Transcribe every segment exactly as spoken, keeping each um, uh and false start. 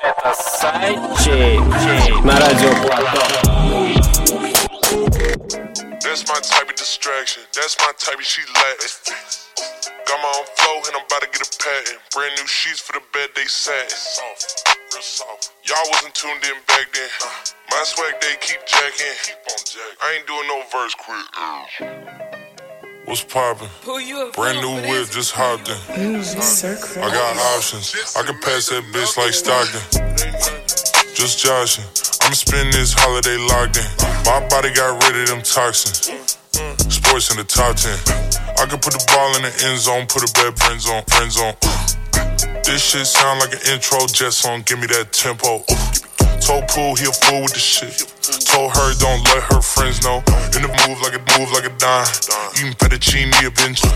Это Сайчик на радио Плато. That's my type of distraction. That's my type of she Latin. Got my own flow and I'm about to get a patent. Brand new sheets for the bed they satin. Soft, real soft. Y'all wasn't tuned in back then. My swag they keep jacking. Keep on jacking. I ain't doing no verse quick. What's poppin'? Brand new whip, just hopped in. I got options. I can pass that bitch like Stockton. Just joshing. I'ma spend this holiday locked in. My body got rid of them toxins. Sports in the top ten. I can put the ball in the end zone, put a bad friends on, friends on. This shit sound like an intro jet song. Give me that tempo. Told Pooh he a fool with the shit. Told her don't let her friends know. In the move like a move like a dime. Eating fettuccine eventually.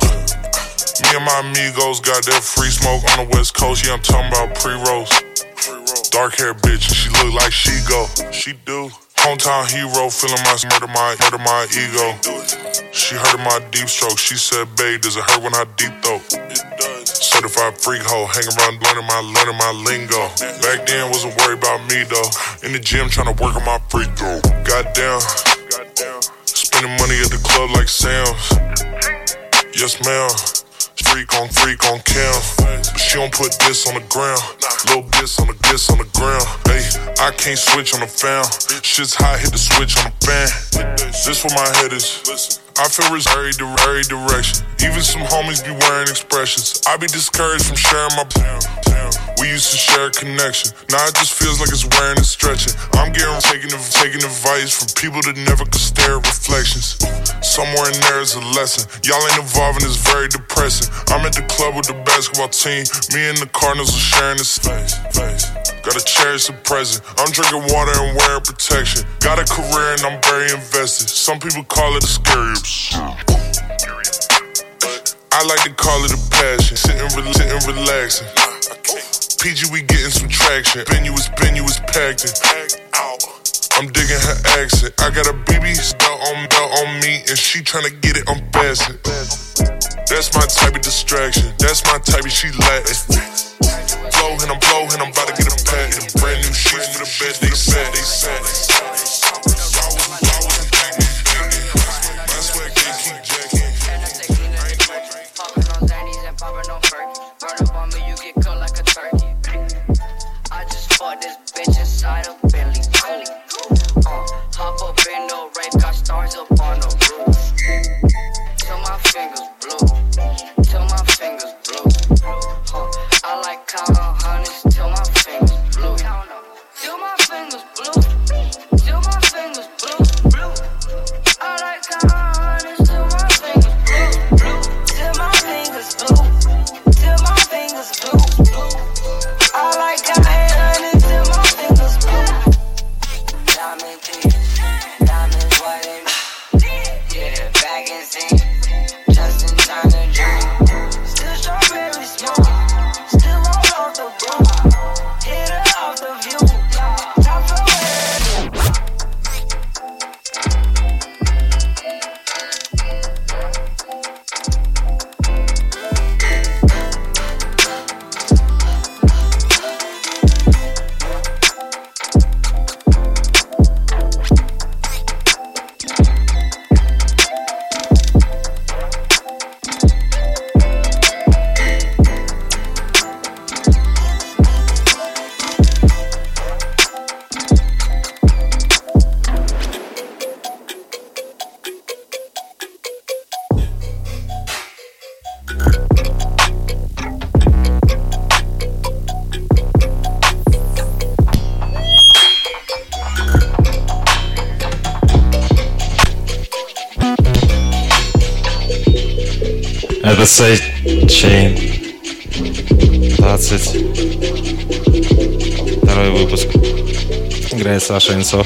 Me and my amigos got that free smoke on the west coast. Yeah, I'm talking about pre-rolls. Dark hair bitch, she look like she go. She do. Hometown hero, feeling my murder my murder my ego. She heard of my deep stroke. She said, babe, does it hurt when I deep throat? Certified freak hoe, hang around learning my learning my lingo. Back then wasn't worried about me though. In the gym trying to work on my free throw. Goddamn, spending money at the club like Sam's. Yes ma'am, freak on freak on cam. But she don't put this on the ground. Little bits on the this on the ground. Hey, I can't switch on the fan. Shit's hot, hit the switch on the fan. This where my head is. I feel it's very, very direction. Even some homies be wearing expressions. I be discouraged from sharing my town. We used to share a connection. Now it just feels like it's wearing and stretching. I'm getting taking taking advice from people that never could stare at reflections. Somewhere in there is a lesson. Y'all ain't evolving, it's very depressing. I'm at the club with the basketball team. Me and the Cardinals are sharing this face. face. Gotta cherish the present. I'm drinking water and wearing protection. Got a career and I'm very invested. Some people call it a scary obsession. I like to call it a passion. Sitting, re- sitting relaxing. P G, we getting some traction. Venue is venue is packed in. I'm digging her accent. I got a B B belt on, belt on me, and she tryna get it unfastened. That's my type of distraction. That's my type of she Latin. Blow and I'm blow and I'm about to get a patent. Brand new sheets for the bed they said they said. Это Сайчейн. двадцать второй выпуск. Играет Саша Инцов.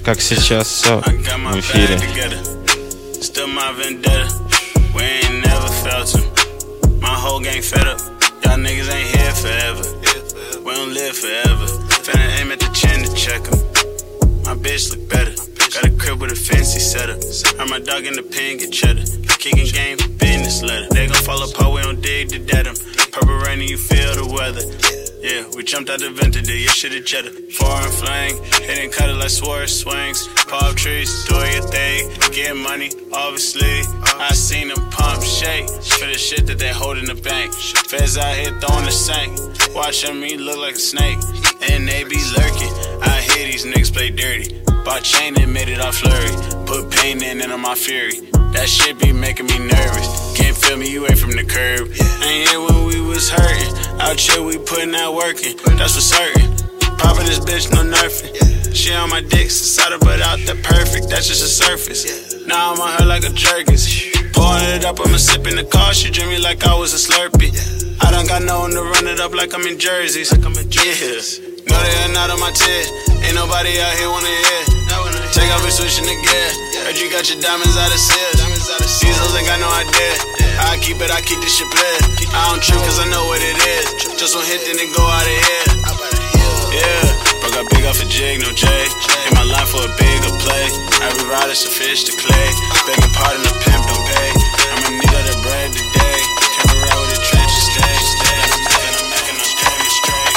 как сейчас, все в эфире. Still my vendetta, we ain't never felt him. My whole gang fed up, y'all niggas ain't here forever. We don't live forever, finna aim at the chin to check him. My bitch look better, got a crib with a fancy setup. Heard my dog in the pen get cheddar, kicking game, business letter. They gon' fall apart, we don't dig to dead 'em. Purple rain and you feel the weather. Yeah, we jumped out the vent today, your shit a cheddar. Foreign flang, hitting cut it like Swerve swings. Pop trees, do your thing, get money, obviously. I seen them pump shake for the shit that they hold in the bank. Feds out here throwing the sink, watching me look like a snake. And they be lurking, I hear these niggas play dirty. Bought chain and made it off flurry, put pain in and on my fury. That shit be making me nervous. Can't feel me, you ain't from the curb. Ain't here when we was hurting. Out here we putting out working. That's for certain. Popping this bitch, no nerfing. She on my dick, inside her but out the perfect. That's just the surface. Now I'm on her like a jerkins. Pouring it up, I'ma sip in the car. She drink me like I was a Slurpee. I done got no one to run it up like I'm in jerseys. Yeah. No, they are not on my tip. Ain't nobody out here wanna hear. Take off and switching the gear. Heard you got your diamonds out of seal. These hoes ain't got no idea. I keep it, I keep this shit bled. I don't trip cause I know what it is. Just one hit, then it go out of here. Yeah, broke up big off a jig, no J. In my line for a bigger play. Every rider's a fish to clay. Begging pardon, the pimp don't pay. I'ma need all the bread today. Can't ride with the trenches, stay, stay. And I'm making no damage straight.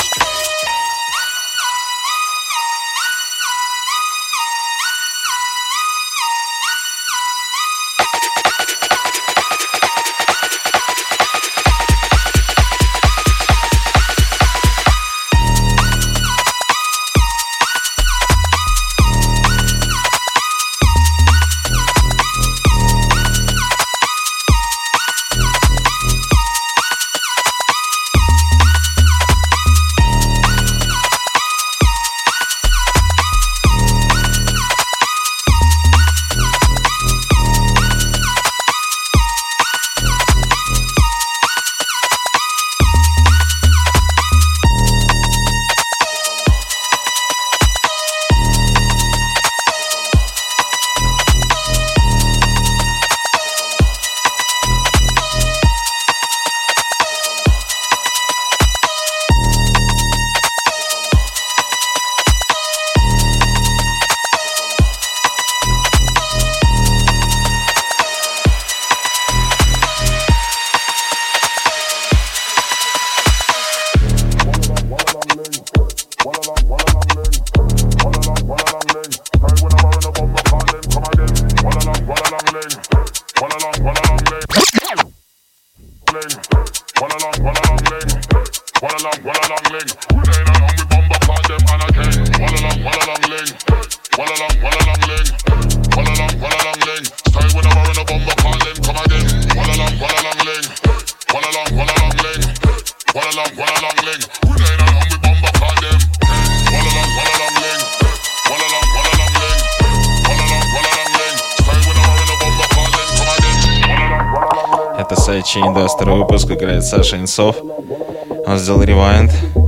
Индастер выпуск, играет Саша Инсов. Он сделал ревайнд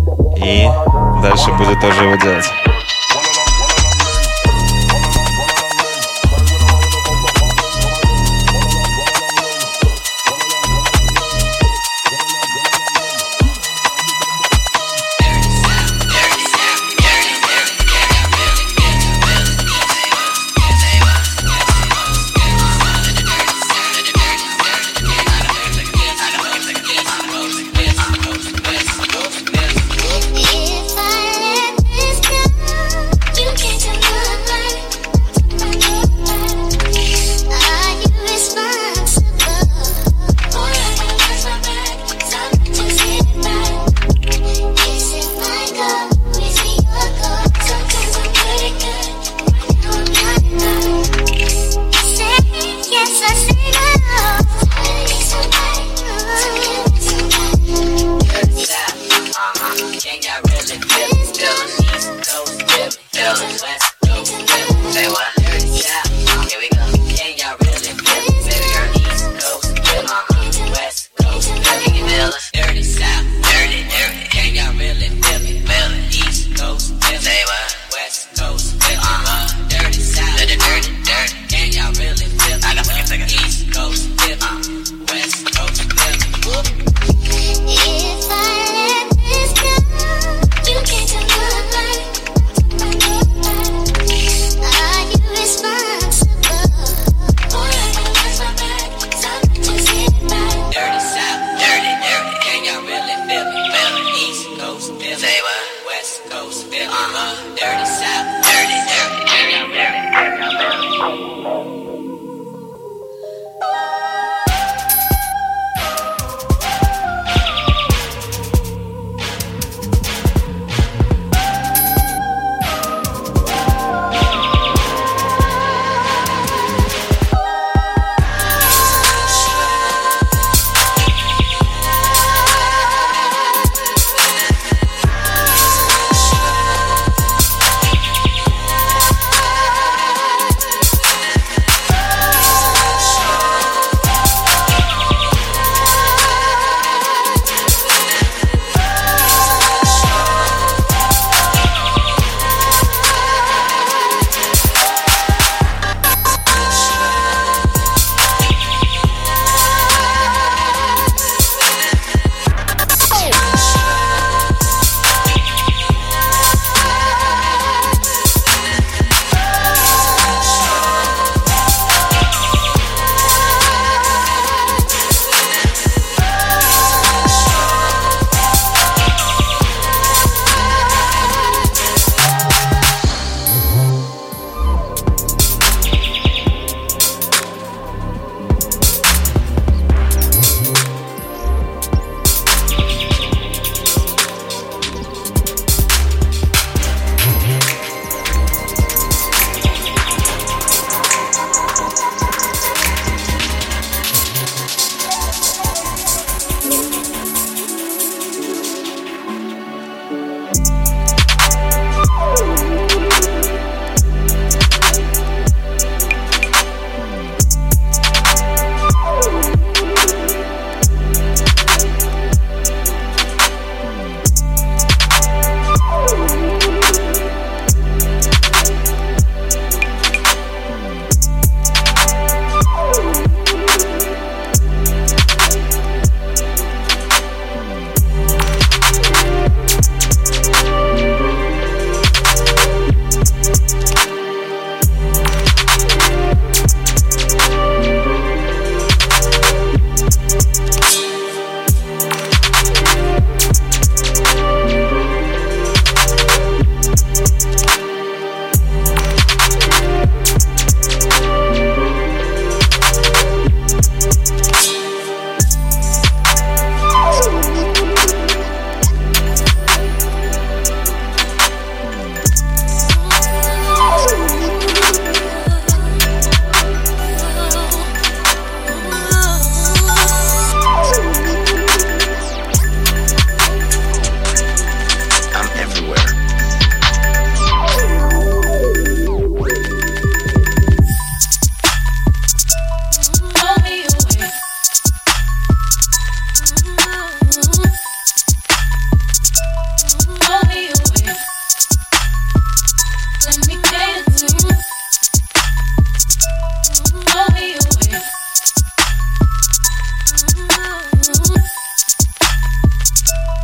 и дальше будет тоже его делать. If I let this go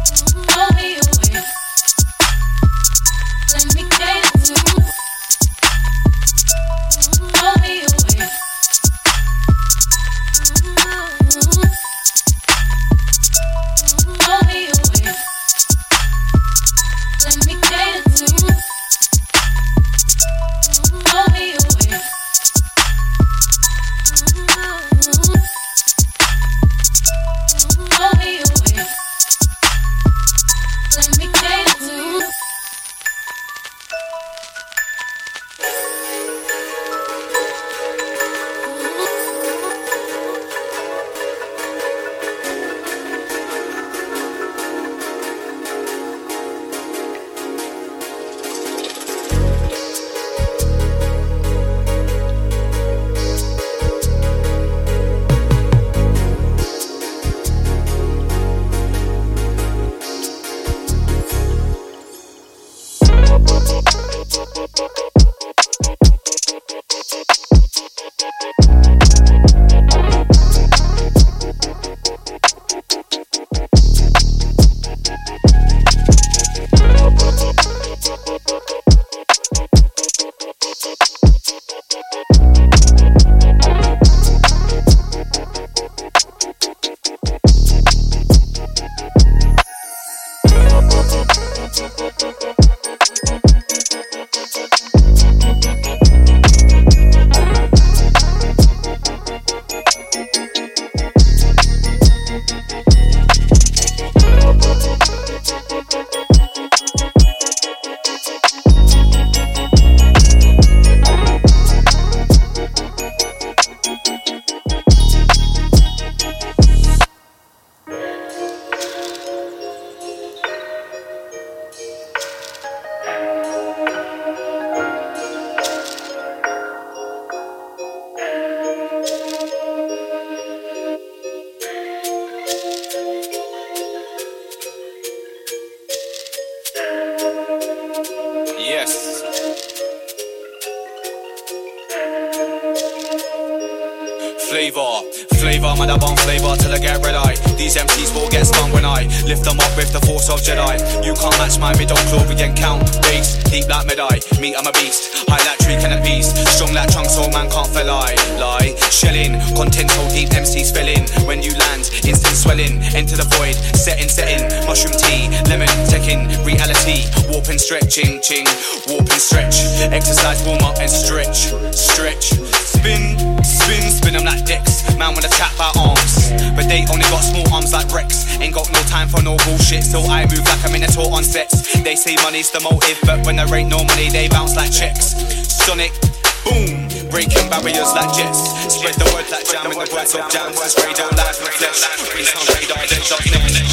Flavor, flavor, man, I bomb flavor till I get red eye. These M Cs will get stung when I lift them up with the force of Jedi. You can't match my middle Clovian count. Bass, deep like Medai. Me, I'm a beast. High like tree can a beast. Strong like trunk, so man can't fell lie. Lie, shelling, content so deep, M Cs fell in. When you land, instant swelling. Enter the void, setting, setting. Mushroom tea, lemon, teching, reality. Warping, stretching, ching, warping, stretch. Exercise, warm up and stretch, stretch. Spin, spin, spin them like decks. Man wanna chat about arms, but they only got small arms like Rex. Ain't got no time for no bullshit, so I move like a minotaur on sets. They say money's the motive, but when there ain't no money, they bounce like checks. Sonic, boom, breaking barriers like jets. Spread the word like jam in the words of jams. This radio live in the flesh. Please on radar, then shot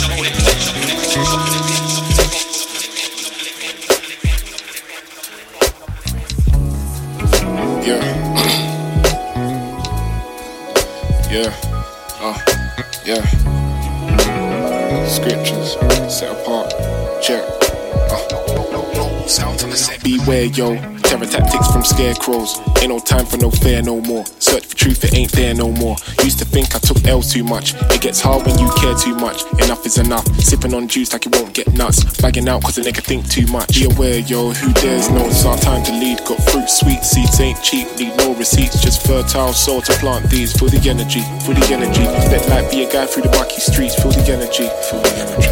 Yeah. Yeah, uh, yeah. Scriptures set apart, check. Uh. Sound on the set. Beware, yo. Terror tactics from scarecrows. Ain't no time for no fear no more. Search for truth, it ain't there no more. Used to think I took L's too much. It gets hard when you care too much. Enough is enough. Sipping on juice like it won't get nuts. Bagging out cause a nigga think too much. Be aware, yo, who dares know it's our time to lead. Got fruit, sweet seeds, ain't cheap. Need no receipts, just fertile soil to plant these. Feel the energy, feel the energy. Let light be a guy through the mucky streets. Feel the energy, feel the energy.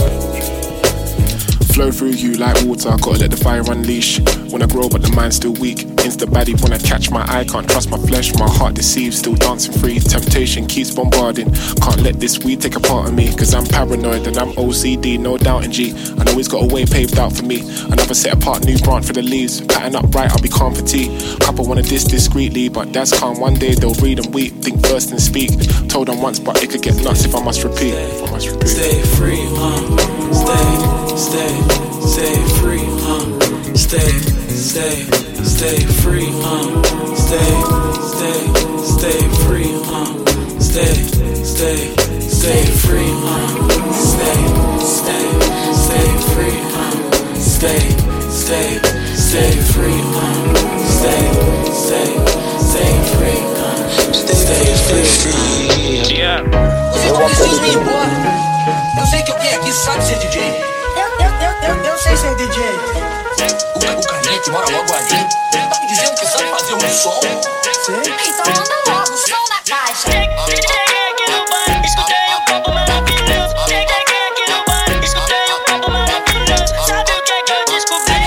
Flow through you like water, gotta let the fire unleash. When I grow but the mind's still weak. Insta baddie when I catch my eye. Can't trust my flesh, my heart deceives. Still dancing free, temptation keeps bombarding. Can't let this weed take a part of me. Cause I'm paranoid and I'm O C D, no doubting G. I know he's got a way paved out for me. Another set apart new branch for the leaves. Pattern up right, I'll be calm for tea. Couple wanna diss discreetly, but that's calm. One day they'll read and weep, think first and speak. Told them once but it could get nuts if I must repeat, if I must repeat. Stay free, huh? Stay, stay. Stay free, huh? Stay, stay, stay free, huh? Stay, stay, stay free, huh? Stay, stay, stay free, huh? Stay, stay, stay free, huh? Stay, stay, stay free, huh? Stay, stay, stay free, huh? Stay free. Yeah. Excuse me, boy. Eu sei que eu tenho aqui, sabe se é D J. D J. Eu, eu, eu, eu, eu sei ser D J. O, o Canete mora logo ali. Tá me dizendo que sabe fazer um som? Sei. Então manda logo o som da caixa. Cheguei aqui no bar, escutei um papo maravilhoso. Cheguei aqui no bar, escutei um papo maravilhoso. Sabe o que é que eu descobri?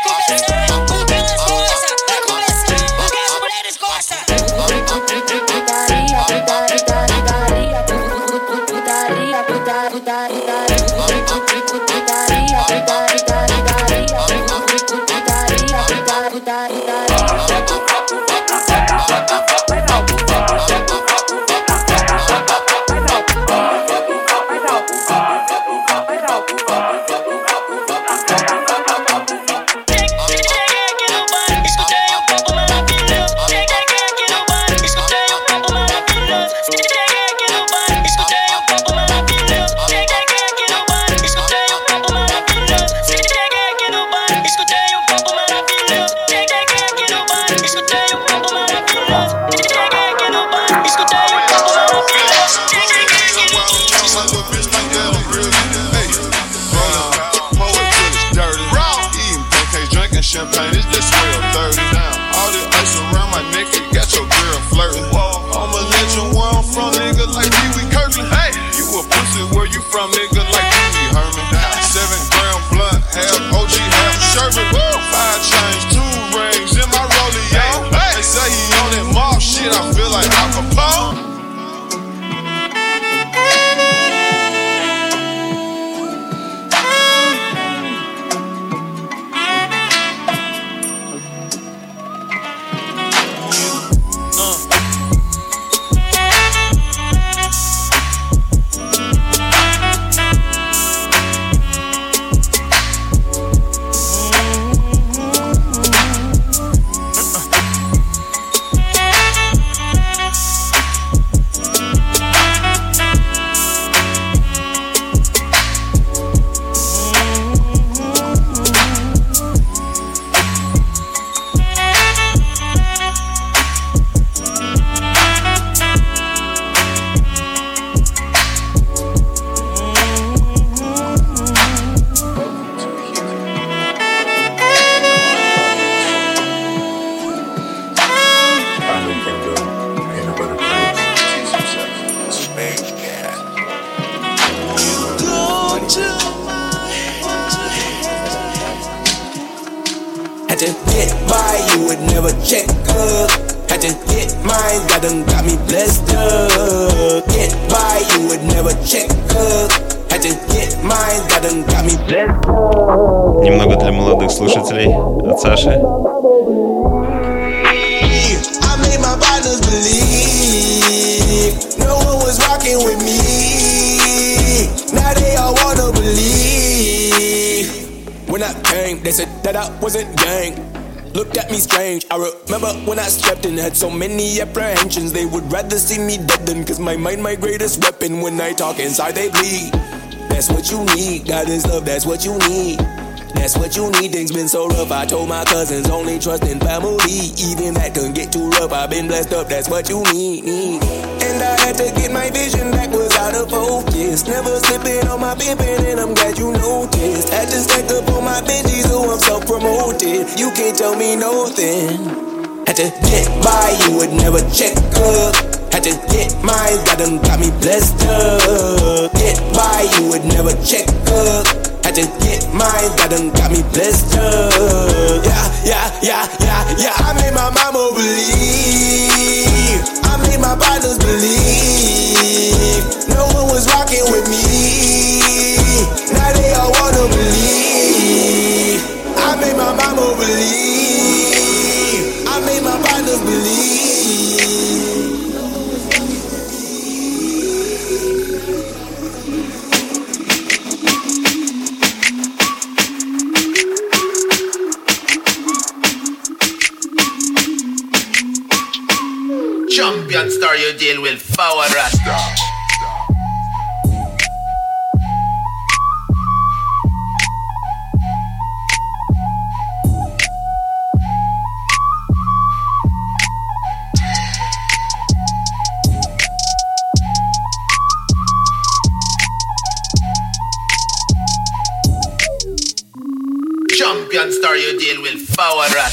Champagne, it's just real thirty down. All this ice around my neck, you got your girl flirting. I'ma let you where I'm from, nigga, like Pee Wee Kirkland. Hey, you a pussy, where you from, nigga, like Pee Wee Herman. Seven gram blunt, half O G, half sherbet. Five chains, two rings in my rollie, yeah. They say he on that mob shit, I feel like Al Capone. Had to get by, you would never check up. Had to get mine, God done got me blessed up. Get by, you would never check up. Had to get mine, God done got me blessed up. Немного для молодых слушателей от Саши. I made my partners believe no one was rocking with me. Now they all wanna believe. When I came, they said that I wasn't gang. Looked at me strange. I remember when I stepped in, had so many apprehensions. They would rather see me dead than, cause my mind my greatest weapon. When I talk inside they bleed. That's what you need, God is love, that's what you need. That's what you need, things been so rough. I told my cousins only trust in family. Even that couldn't get too rough, I've been blessed up, that's what you need, need. And I had to get my vision back, was out of focus. Never slipping on my pimpin', and I'm glad you noticed. Had to stack up on my Benjis, so I'm self-promoted. You can't tell me nothing. Had to get by, you would never check up. Had to get mine, God done got me blessed up. Get by, you would never check up. Had to get mine, God done got me blessed up. Yeah, yeah, yeah, yeah, yeah. I made my mama believe. I made my partners believe. No one was rocking with me. Now they all wanna believe. I made my mama believe. I made my partners believe. Champion star, you deal with Power Rasta. Champion star you deal with, forward rat.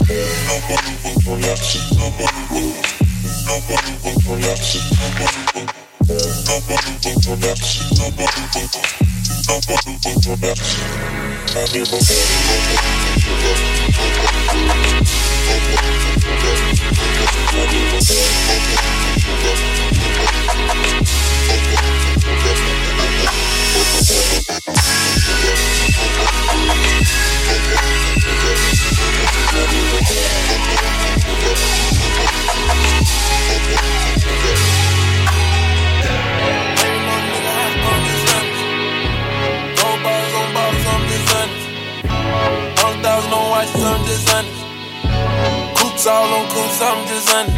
I'm just honest. Coops all on coops, I'm just honest.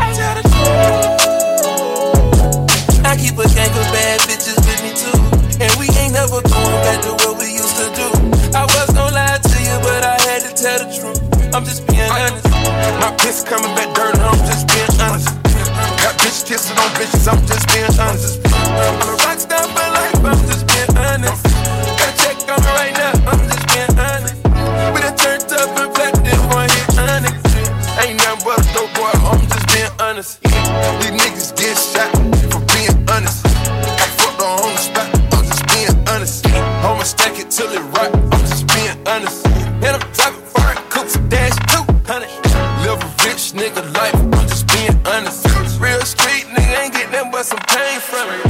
I keep a gang of bad bitches with me too, and we ain't never going back to what we used to do. I was gonna lie to you, but I had to tell the truth. I'm just being honest. My piss coming back dirty, I'm just being honest. Got bitch kissing on bitches, I'm just being honest. I'm a rock star for life, I'm just being honest. Got a check on me right now, I'm just being honest. We done turned up and platinum, one hit honest. Ain't nothing but a dope boy, I'm just being honest. These niggas get shot for being honest. I fucked her on the spot, I'm just being honest. I'ma stack it till it right, I'm just being honest. And I'm driving foreign coops, dash two hundred. Live a rich nigga life, I'm just being honest. Real street nigga ain't get nothing but some pain from it.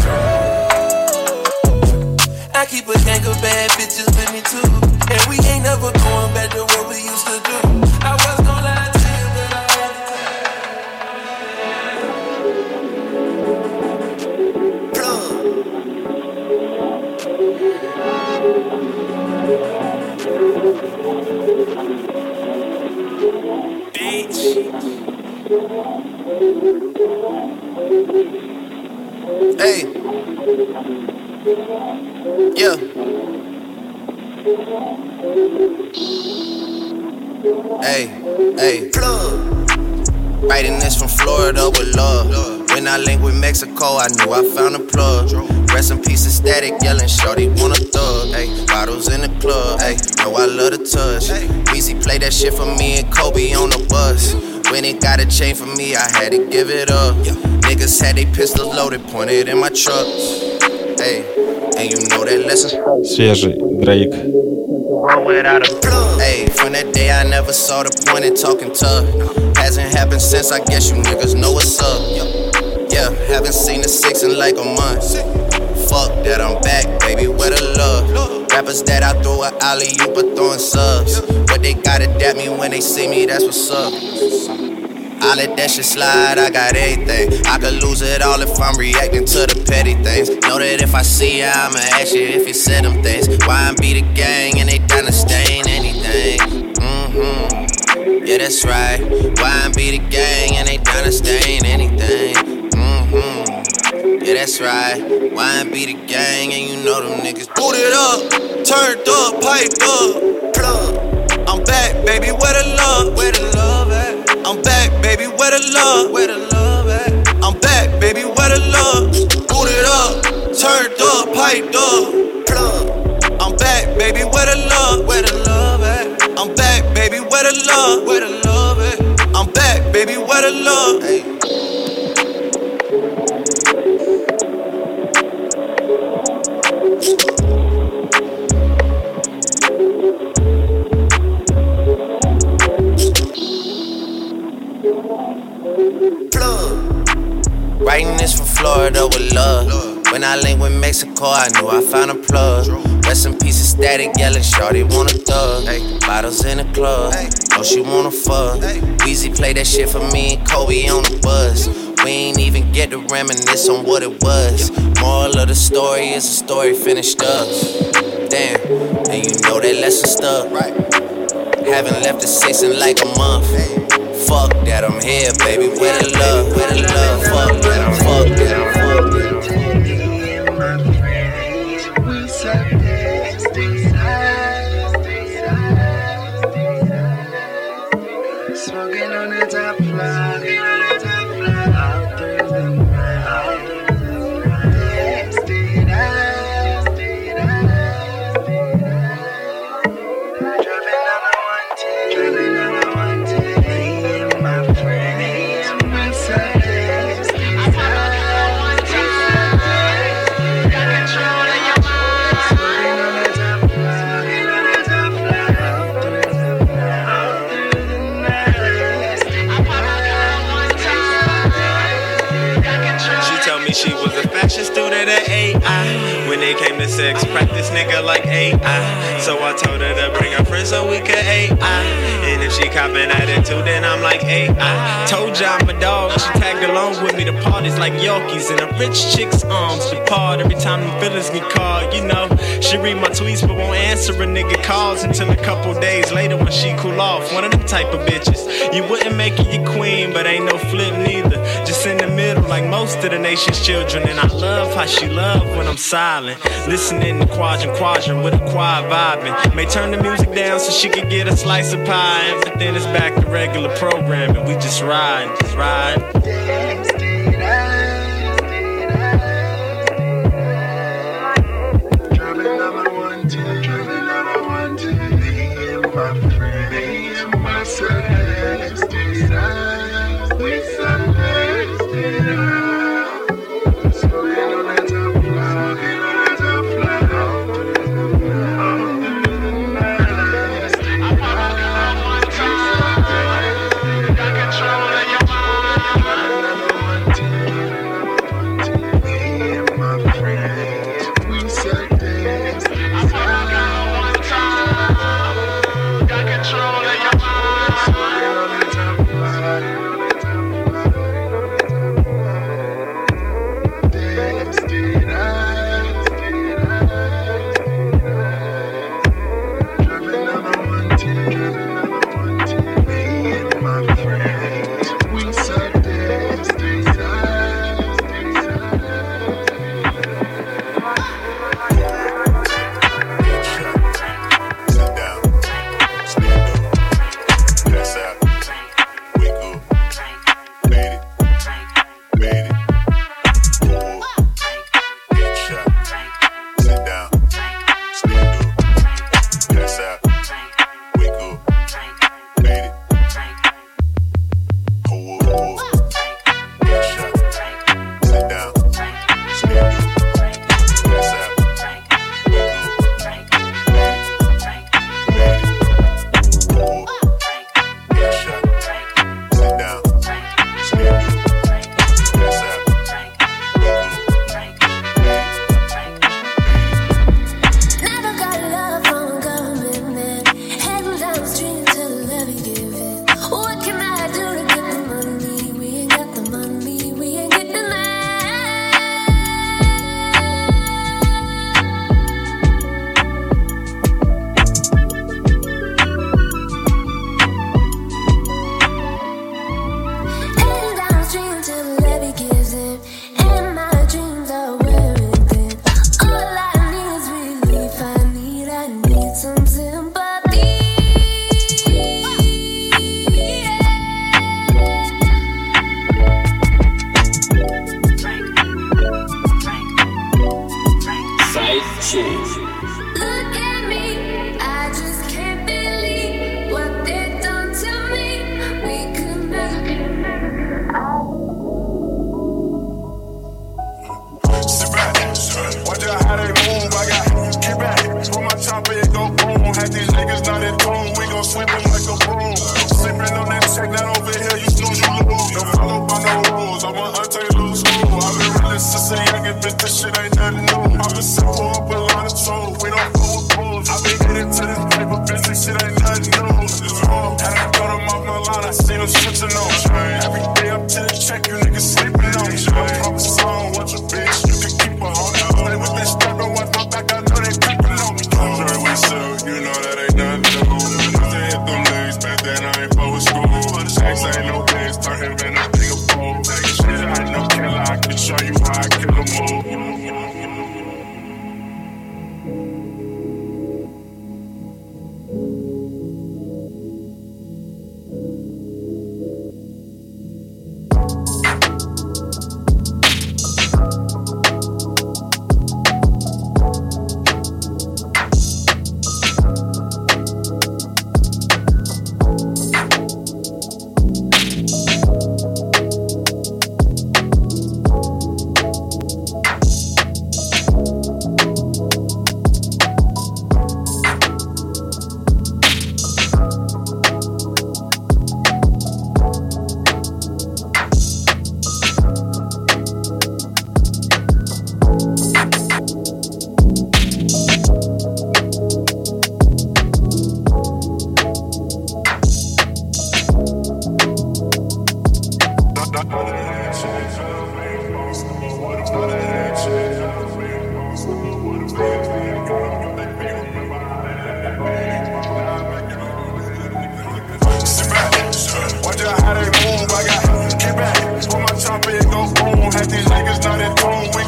I keep a gang of bad bitches with me too, and we ain't never going back to what we used to do. I was gonna lie to you, but I had Bitch. Hey. Yeah. Hey, hey. Writing this from Florida with love. When I linked with Mexico, I knew I found a plug. Rest in peace of Static, yelling, shorty want a thug. Ay, bottles in the club, ay, know I love the touch. Weezy played that shit for me and Kobe on the bus. When it got a chain for me, I had to give it up. Niggas had they pistols loaded, pointed in my truck. Ay, and you know that lesson. Свежий Дрейк. Hey, from that day I never saw the point in talking tough. Hasn't happened since, I guess you niggas know what's up. Yeah, haven't seen the six in like a month. Fuck that, I'm back, baby, where the love? Rappers that I throw a alley-oop but throwing subs, but they gotta dap me when they see me, that's what's up. I let that shit slide, I got everything. I could lose it all if I'm reacting to the petty things. Know that if I see ya, I'ma ask you if you said them things. Why I be the gang and they done to stain anything? Mm-hmm, yeah, that's right. Why I be the gang and they done to stain anything? Mm-hmm, yeah, that's right. Why I be the gang and you know them niggas booted up, turned up, piped up, plug. I'm back, baby, where the love? Where the love at? I'm back, baby, where the love? Where the love at? I'm back, baby, where the love? Booted up, turned up, piped up, plug. I'm back, baby, where the love? Where the love at? I'm back, baby, where the love? Where the love at? I'm back, baby, where the love? Hey. Writing this from Florida with love. When I linked with Mexico, I knew I found a plug. Rest in peace of Static, yelling, shorty want a thug. Ay, bottles in the club, know she wanna fuck. Weezy played that shit for me and Kobe on the bus. We ain't even get to reminisce on what it was. Moral of the story is the story finished up. Damn, and you know that lesson stuck. Haven't left the six in like a month. Fuck that, I'm here, baby. Where the love? Where the love? Fuck that, I'm fuck that, I'm fuck that. Smoking on the top floor, all through the night. Stay down, stay down, stay down. Driving on the one She was a fashion student at A I. When it came to sex, practice nigga like A I. So I told her to bring her friends so we could A I. And if she copping attitude, then I'm like A I. Told ya I'm a dog, she tagged along with me to parties like Yorkies. And a rich chick's arms depart every time them feelings get called. You know, she read my tweets but won't answer a nigga calls until a couple days later when she cool off. One of them type of bitches. You wouldn't make it your queen, but ain't no flip neither. Just in the middle like most of the nation's children. And I love how she love when I'm silent, listening to quadrant quadrant with a quiet vibing. May turn the music down so she could get a slice of pie. But then it's back to regular programming. We just ride, just ride. Driving number one, two, driving number one, two. Me and my friend, me and my son, stay down. We somewhere stay down. Smoking on that top floor, smoking on that top floor. I wanna come one time. Got control of your mind. Number one, two, me and my friends, we said this. I wanna come one time. Got control of your mind. Smoking on that top floor. Sit down, stand up, pass out, wake up.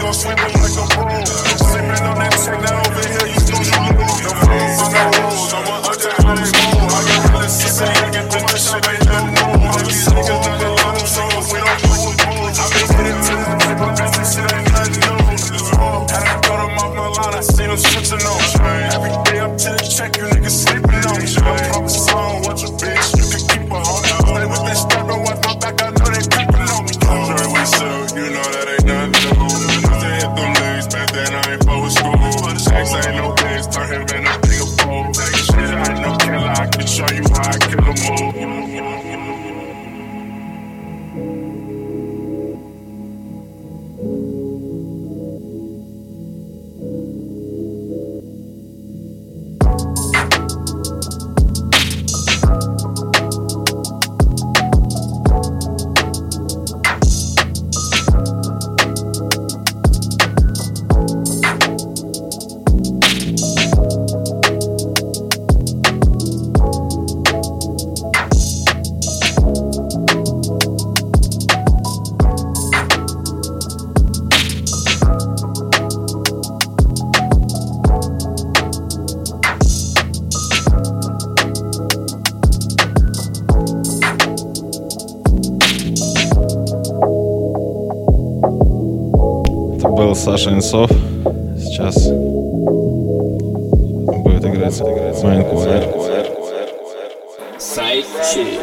gon' sweep it like a broom. Sleeping on that check, now over here, you snooze, you lose. No rules, no rules, I'm a hundred, hundred move. I got really six, I ain't get this shit, ain't nothing new. All these niggas done got long songs, we don't lose. I've been hitting to the tip, but this shit ain't nothing new. Had I got them off my line, I seen them switching on. Every day up to the check, you niggas sleeping on. I'm proper song, watch a bitch, you can keep her on. Stay with that stuff, don't watch my back, I know they creeping on me. Sure we sell, you know that ain't nothing new. Used to hit them legs, back then I ain't forward school. X ain't no days, turn him in a bigger pole. Shit, I ain't no killer, I can show you how I kill a move. Был Саша Инсов. Сейчас будет играть Майнквайр. Сайдчик.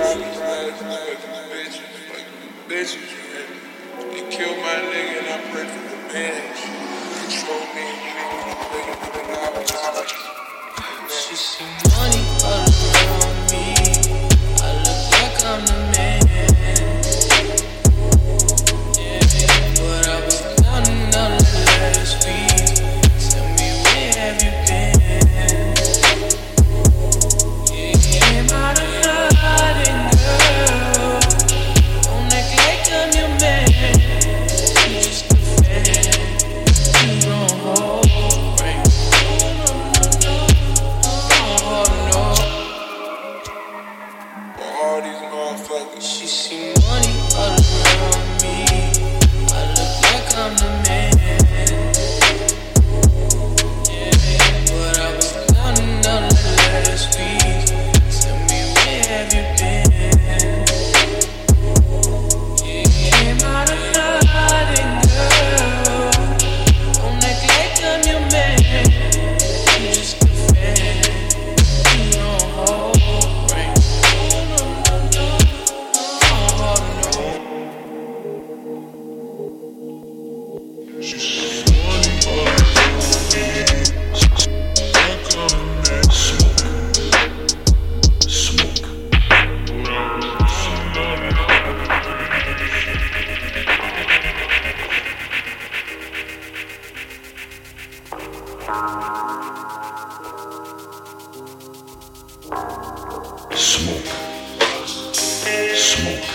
She see money all around me. I look like I'm the man. But I was counting on the last week. Tell me, where have you been? Yeah, came out of nothing, girl. Don't act like I'm your man. You just a fan. You don't hold right. All these motherfuckers. She see money all around me. I look like I'm the man. Yeah, but I was counting on the last week. Tell me, where have you been? Yeah, came out of nothing, girl. Don't act like I'm your man. You just a fan. You don't hold right. Smoke. Smoke.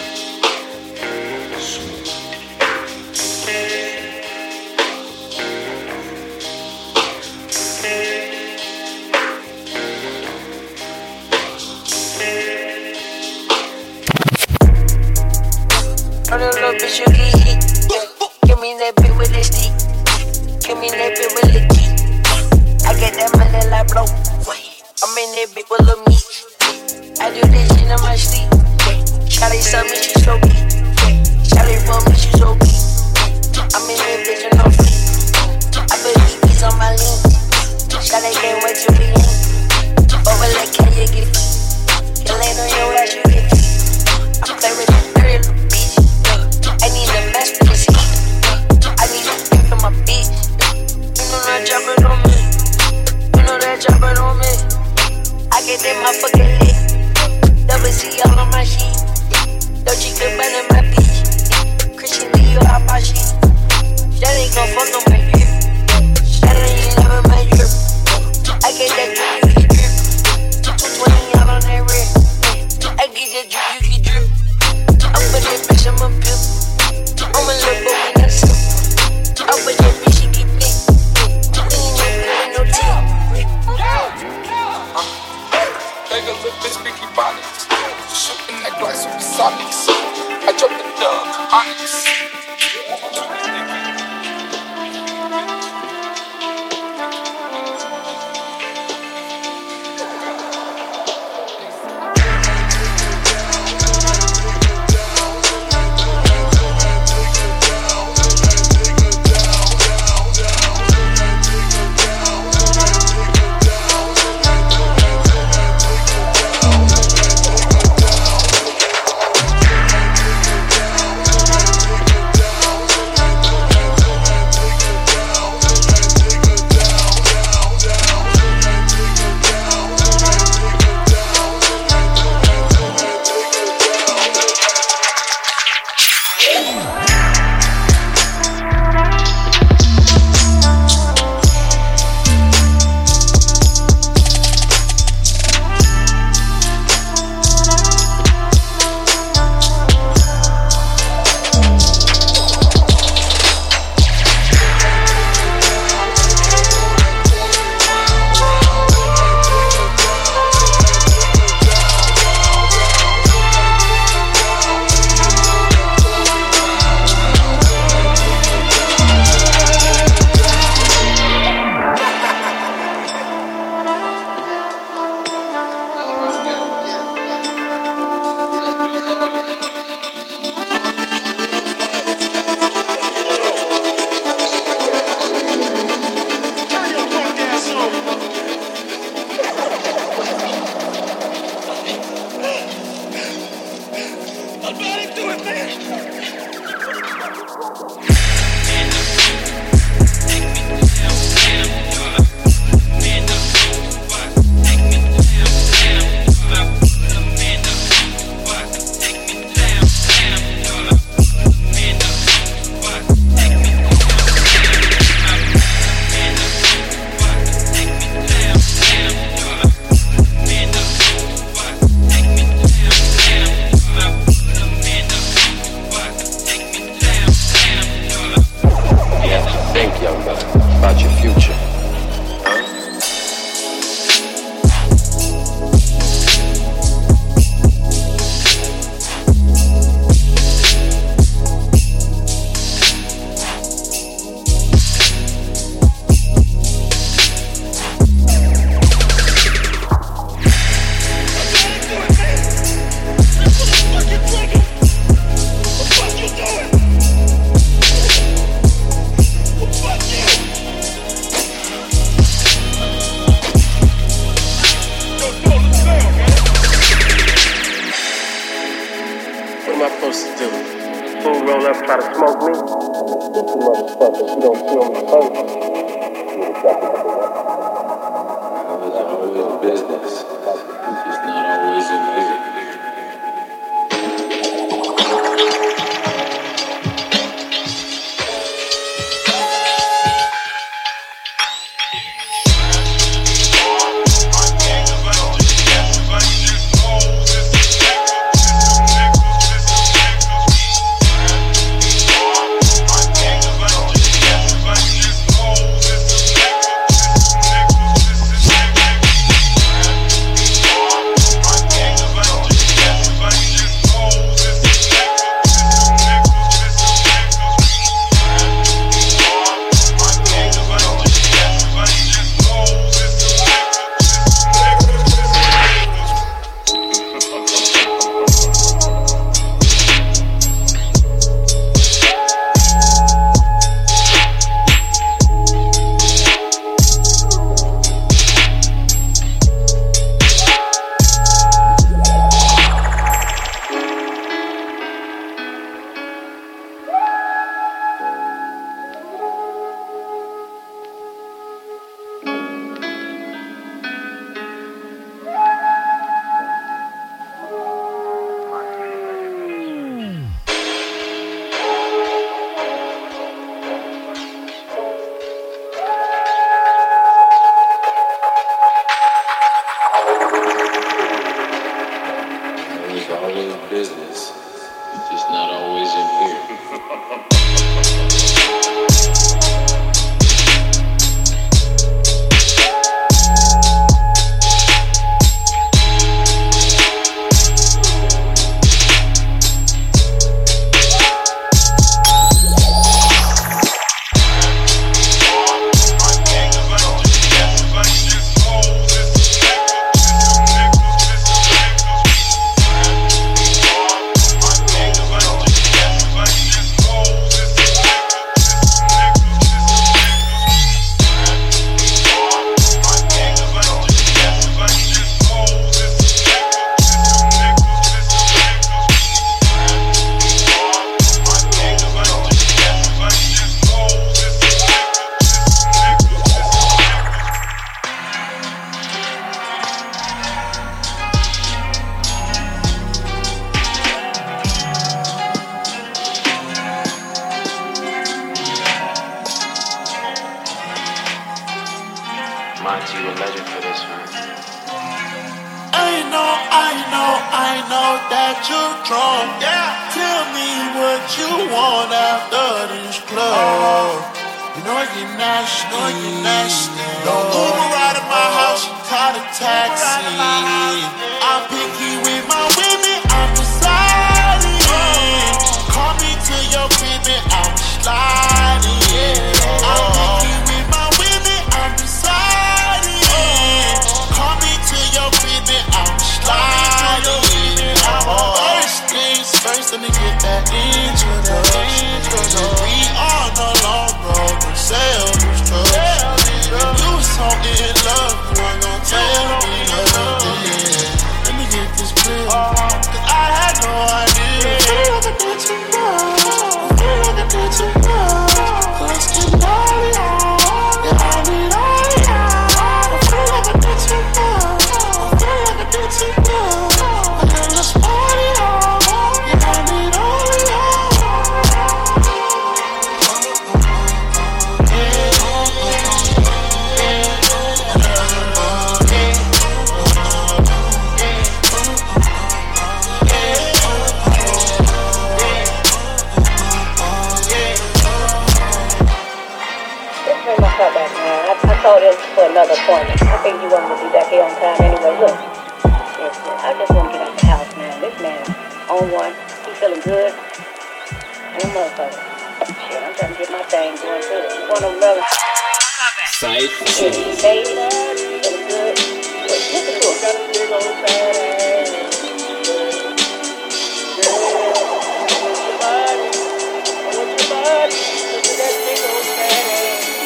On a little bitch, you get hit. Yeah. Give me that bit with that stick. Give me that bit with the key. I get that money like blow. I'm in that bit with little meat. I do this shit in my sleep. Shawty saw me, she so big. Shawty for me, she so big. I'm in that bitch with no feet. I put these beats on my lean. Shawty can't wait to be in. Over like can you get feet? You lay on your ass, you get feet. I play with that dirty little bitch. I need a mess for this heat. I need a pick for my bitch. You know that jumping on me. You know that jumping on me. I get that motherfucking lit. Double C all on my sheet. Dolce Gabbana my bitch. Christian Dior out my sheet. That ain't gon' fuck on my drip. That ain't never my drip. I get that drip, you get drip. twenty out on that red. I get that drip, you get drip. I'm with that bitch, I'm a pimp. I'm a little boy in that suit. I'm with that bitch, she get big. We ain't never with no tip. Take a little bitch, Vicky Bonnets. Shooting that glass with the Sonics. I dropped the dub, Onyx. Monty, you a legend for this, man. I know, I know, I know that you're drunk. Yeah. Tell me what you want after this club. You know I get nasty. You know I get nasty. Don't Uber right at my house, call a taxi. I'm picky with my women, I'm deciding. Call me to your baby, I'm sliding. I'm picky with my women, I'm deciding. Call me to your baby, I'm sliding. I'm first things first, let me get that introduction. We on the long road to self-destruction. You was so in love, you weren't gon' tell me nothing. appointment. I think you want to be back here on time anyway. Look, listen, I just want to get out the house, man. This man on one, he feeling good. And a motherfucker. Shit, I'm trying to get my thing going too. You want to know? Side shit. He's made up, feeling good. Look, listen to him. Got a big old fat ass. Girl, I want your body. I want your body. Look at that big old fat ass.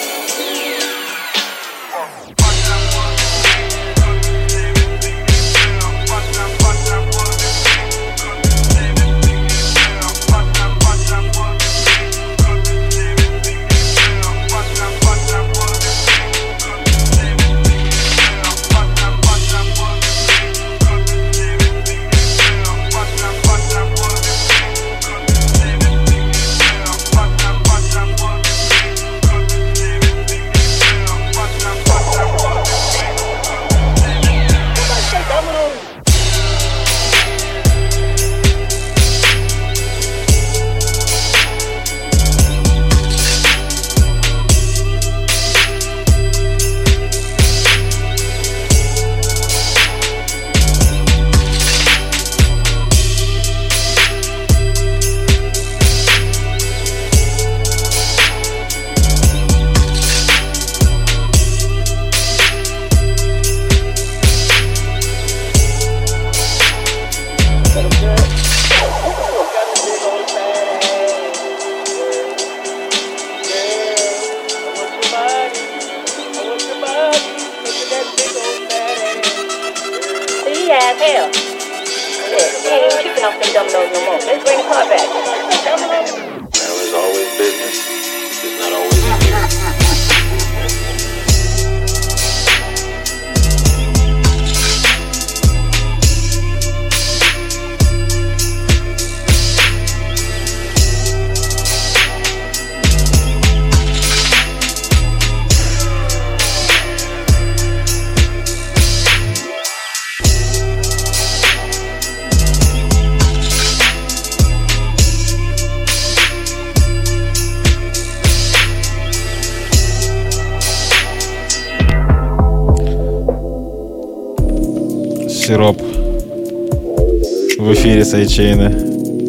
Сироп в эфире Сайдчейна.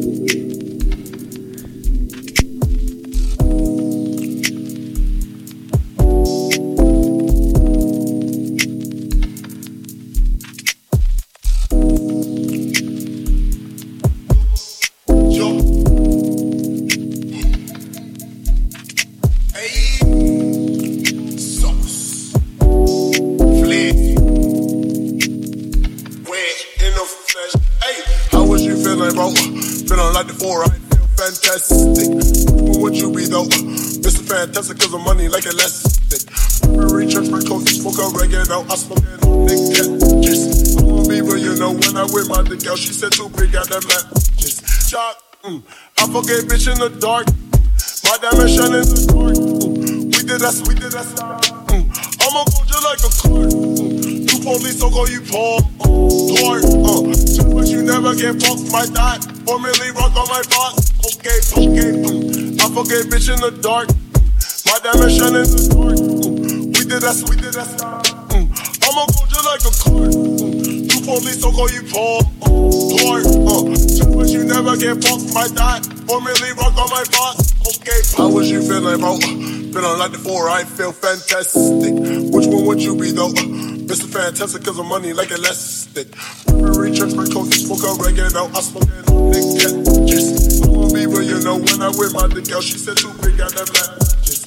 She said too big, got that matches. Shot, mm. I forget bitch in the dark. My diamond shine in the dark. Mm. We did that, we did that. Mm. I'ma go just like a card. Mm. You police, I'll call you Paul. Lord, uh, just but you never get fucked my dot. Four million rock on my box. Okay, okay, mm. I forget bitch in the dark. My diamond shine in the dark. Mm. We did that, we did that. Mm. I'ma go just like a card. Mm. You police, I'll call you Paul. Lord, uh, just but you never get fucked my dot. Four million rock on my box. Okay, how was you feeling, bro? Been on like the four, I feel fantastic. Which one would you be though? Mister Fantastic, cause of money like elastic. Reach church, my coat, smoke a oregano. I smoke that nigga. Just, I wanna be real, you know, when I with my dick, girl, she said too big, got that black. Just.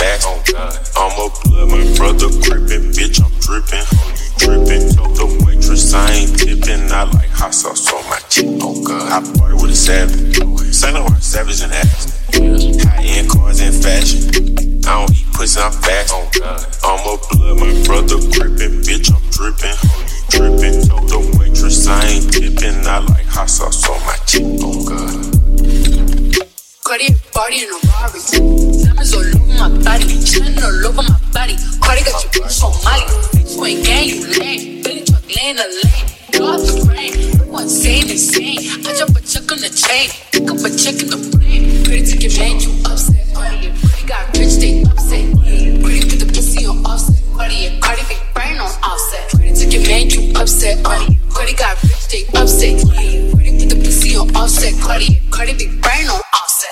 I'm a blood, my brother creeping, bitch, I'm dripping. You dripping, told the waitress. waitress, I ain't tipping. I like hot sauce on my chip. Oh God, I party with a savage. Saint Laurent savage and ass. High-end cars in fashion. I don't eat pussy, I'm fast. Oh God, I'm a blood, my brother gripping. Bitch, I'm dripping. Oh, you dripping. The waitress, I ain't tipping. I like hot sauce on my chip. Oh God. Cardi party in a Rari. Diamonds all over my body. Shining all over my body. Cardi got your bitch on Molly. Bitch, you ain't gang, you lame. Billy truck laying a lane. Draw the rain. You insane, insane. I drop a check on the chain. Pick up a check in the plane. Pretty to get made, you upset. Cardi and Pretty got rich, they upset. Pretty put the pussy on offset. Cardi and Cardi big brain on offset. Pretty to get made, you upset. Cardi, Cardi got rich, they upset. Pretty put the pussy on offset. Cardi and Cardi big brain on offset.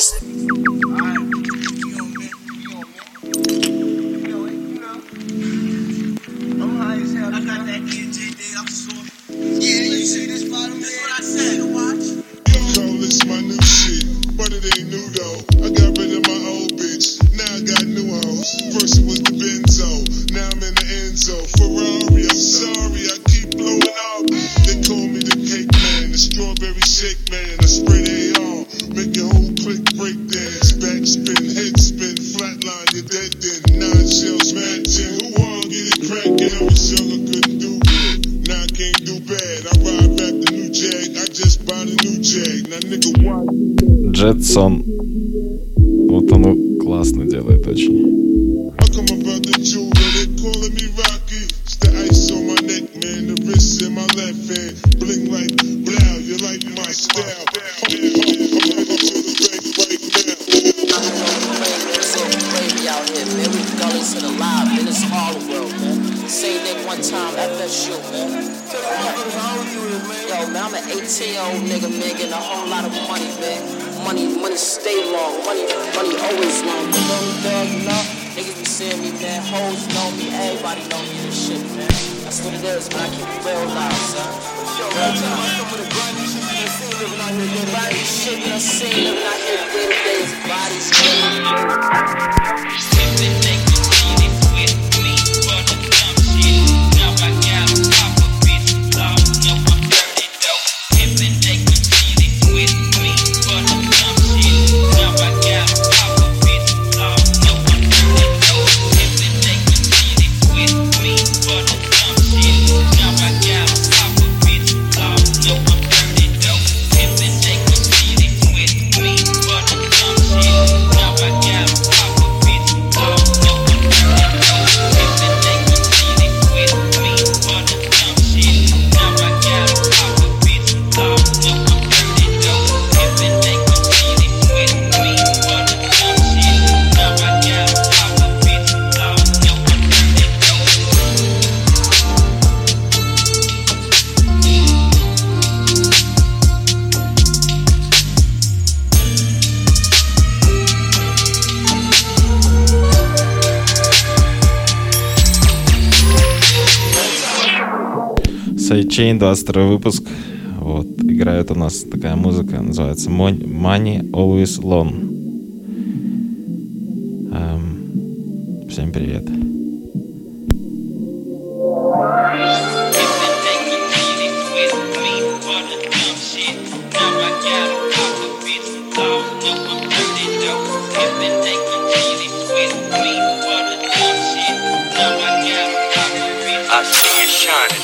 This my new shit, but it ain't new though. I got rid of my old bitch, now I got new hoes. First it was the Benzo, now I'm in the Enzo. Ferrari, I'm sorry, I keep blowing up. They call me the cake man, the strawberry shake man. I spray they all, make your whole click break dance. Backspin, head spin, flatline, you're dead then. Nine shells matching, who wanna get it crackin'? I was young, I couldn't do good, now I can't do bad. I ride back the new Jag, I just bought a new Jag. Now nigga, why? Jetson. Вот он классно делает очень. eighteen-year-old nigga, man, getting a whole lot of money, man. Money, money stay long. Money, money always long. You know me, dog, you know? Niggas be seeing me, man. Hoes know me. Everybody know me and shit, man. That's what it is, man. I keep it real loud, son. Real time. Body shit, you done seen living out here day to day. Bodies, Сайдчейн, двадцать второй выпуск. Вот, играет у нас такая музыка, называется Money Always Long. Эм, всем привет. I see you shining.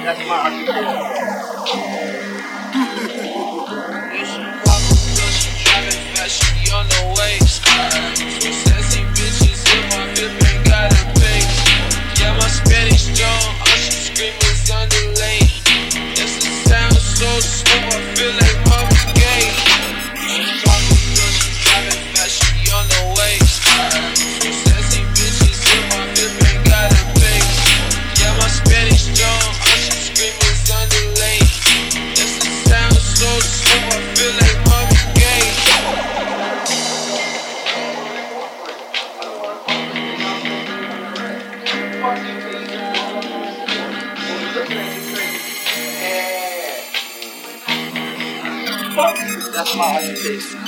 That's my occupation. She on the waist. Two sassy bitches in my whip and got a pace. Yeah, my Spanish strong, all she scream is underlay. Yes, it sounds so smooth, I feel like Marvin Gaye. She talking good, she driving fast, she on the waist. Two sassy bitches in my whip and got a pace. Yeah, my Spanish strong, all she scream is underlay. Yes, it sounds so smooth, I feel like Marvin Gaye. That's my occupation.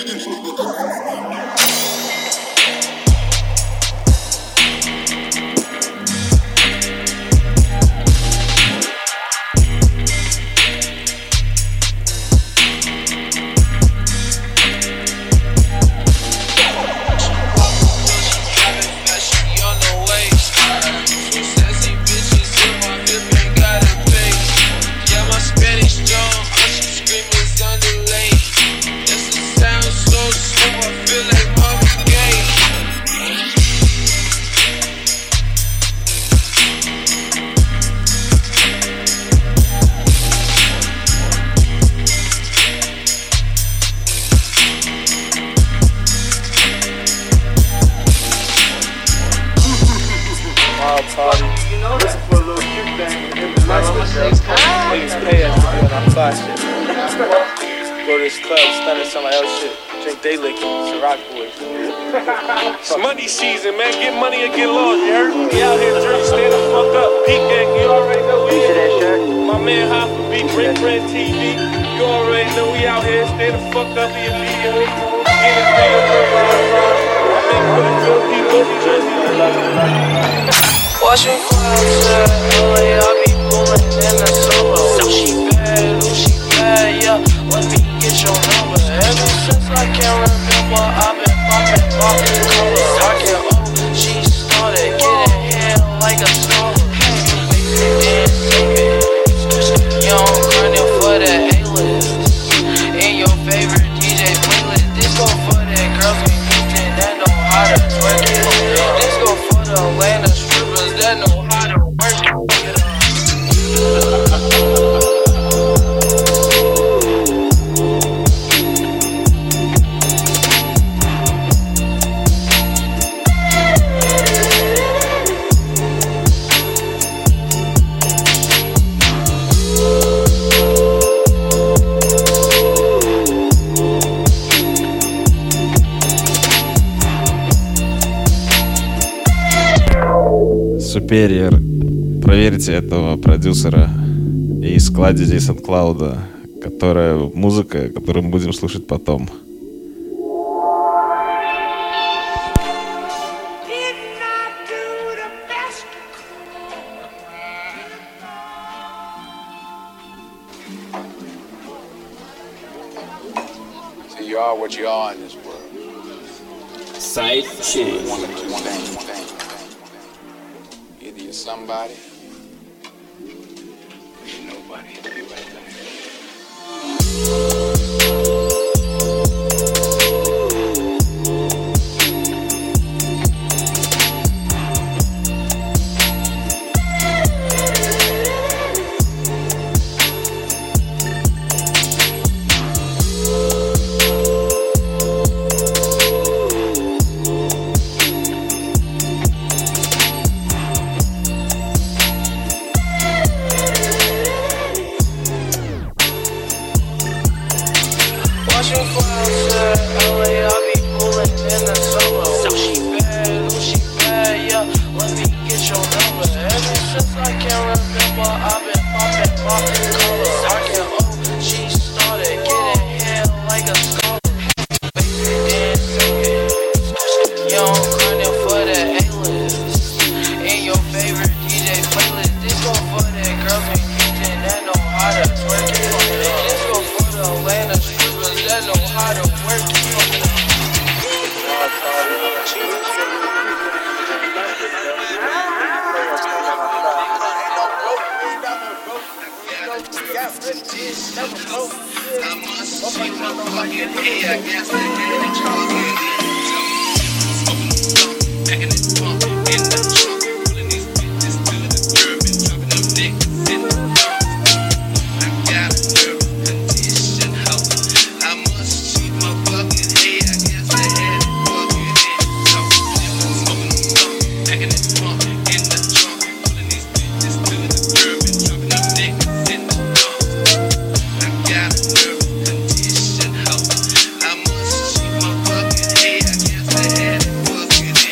It's money season, man. Get money or get lost. You heard me? We out here drinking, stand the fuck up. Peak gang, you already know we here. My man Hopper B, Break Bread T V. You already know we out here. Stand the fuck up immediately. Get it real, I make for the good people, New Jersey. Watching clouds at L A, I be pulling in a solo. Ooh, she bad, ooh, she bad, yeah. Let me get your number. Ever since I can't remember, I've been popping, popping colors. I can oh, she started getting hit like a scholar. And singing, young grinding for the A-list. In your favorite D J playlist. This go for the girls in Houston that know how to twerk it. This go for the Atlanta strippers that know how to work it. Супериор. Проверьте этого продюсера и складе здесь от Клауда, которая музыка, которую мы будем слушать потом. See, you are what you are in this world. Side chick. One of two things. Either you're somebody, or you're nobody. It'll be right there. fucking hey, I guess I had it talking. Back in the trunk, in the trunk, pulling these bitches to the curb and dropping them niggas in the trunk. I got a nervous condition, ho. I must cheat my fucking hey, I guess I had it fucking in. So, smoking the skunk, back in the trunk, in the trunk, pulling these bitches to the curb and dropping them niggas in the trunk. I got a nervous condition, ho. I must cheat my fucking hey, I guess I had it fucking in.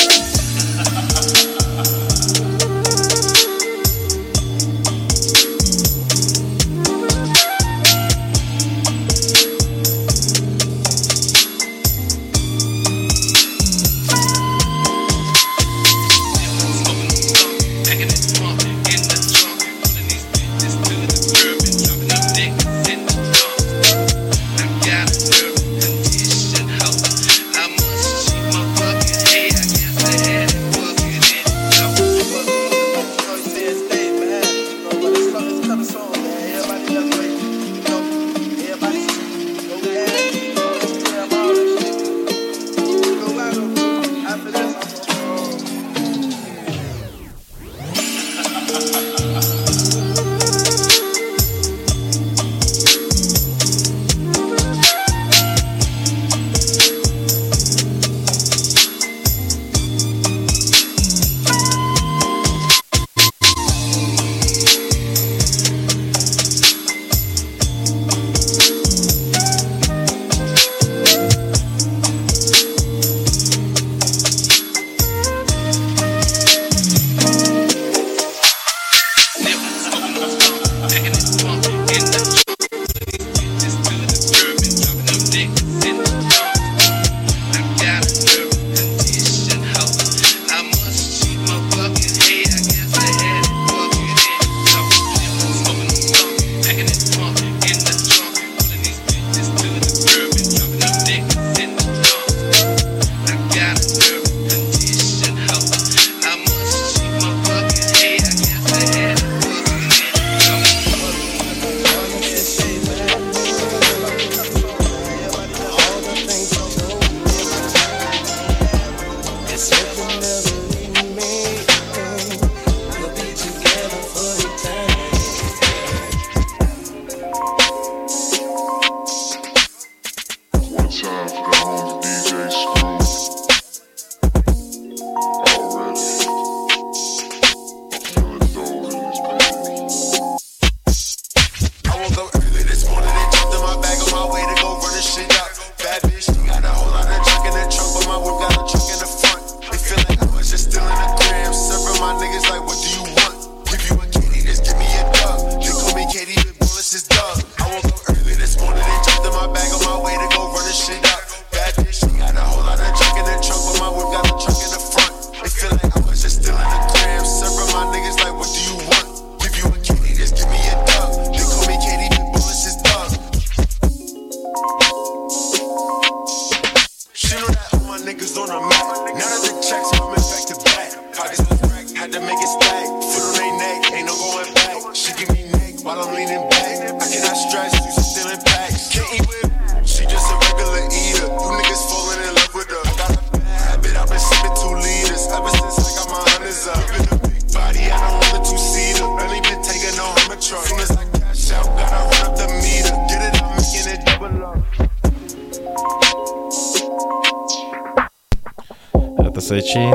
Сайчейн.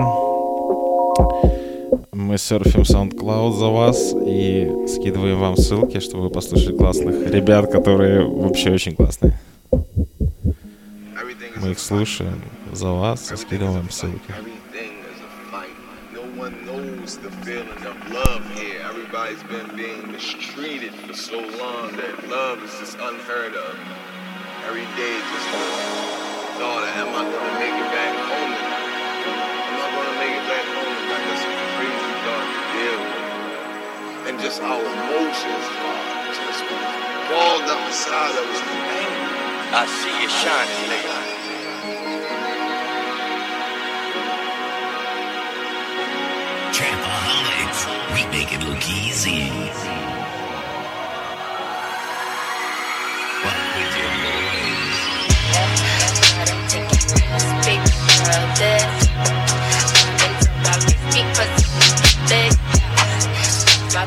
Мы серфим SoundCloud за вас и скидываем вам ссылки, чтобы вы послушали классных ребят, которые вообще очень классные. Мы их слушаем за вас и скидываем вам ссылки. And just our emotions just balled up inside of us. I see you shining, nigga. Trapaholics, we make it look easy. Walk with your boys.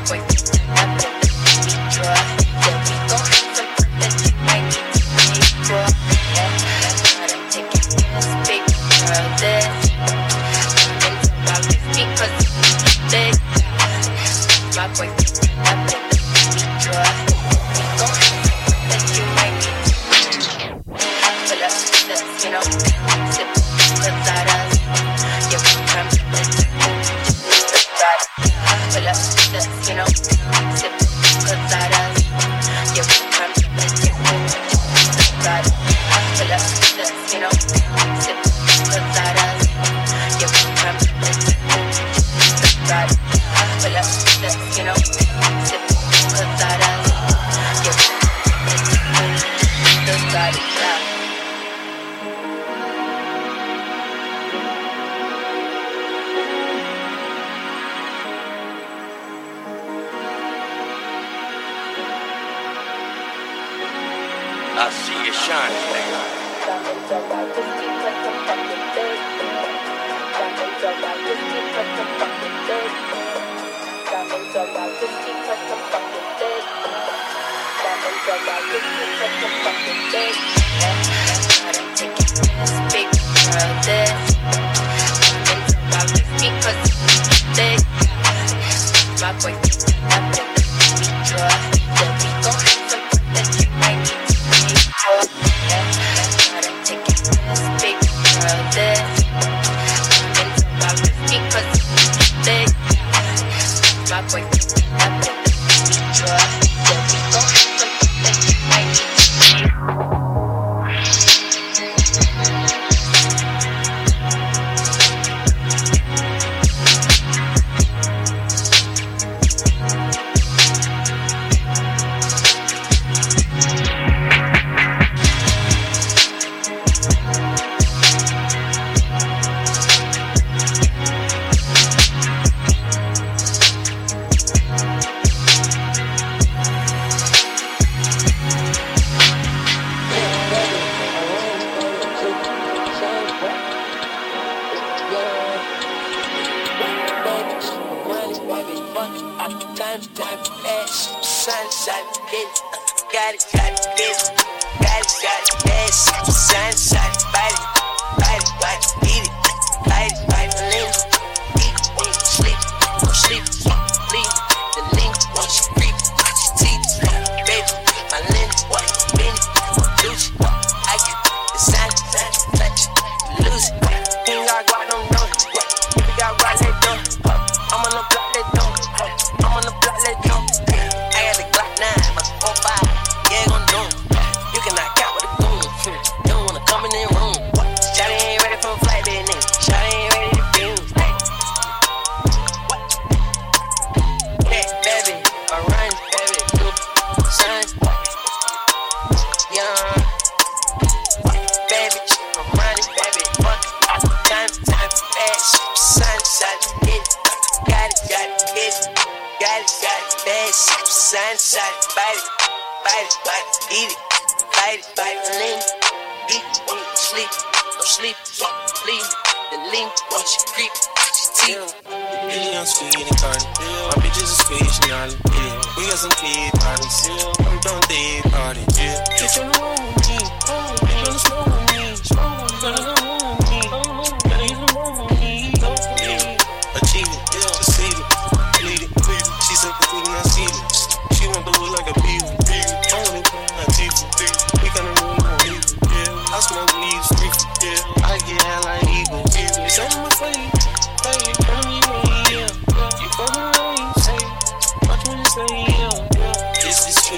I see you shining, nigga. My boy,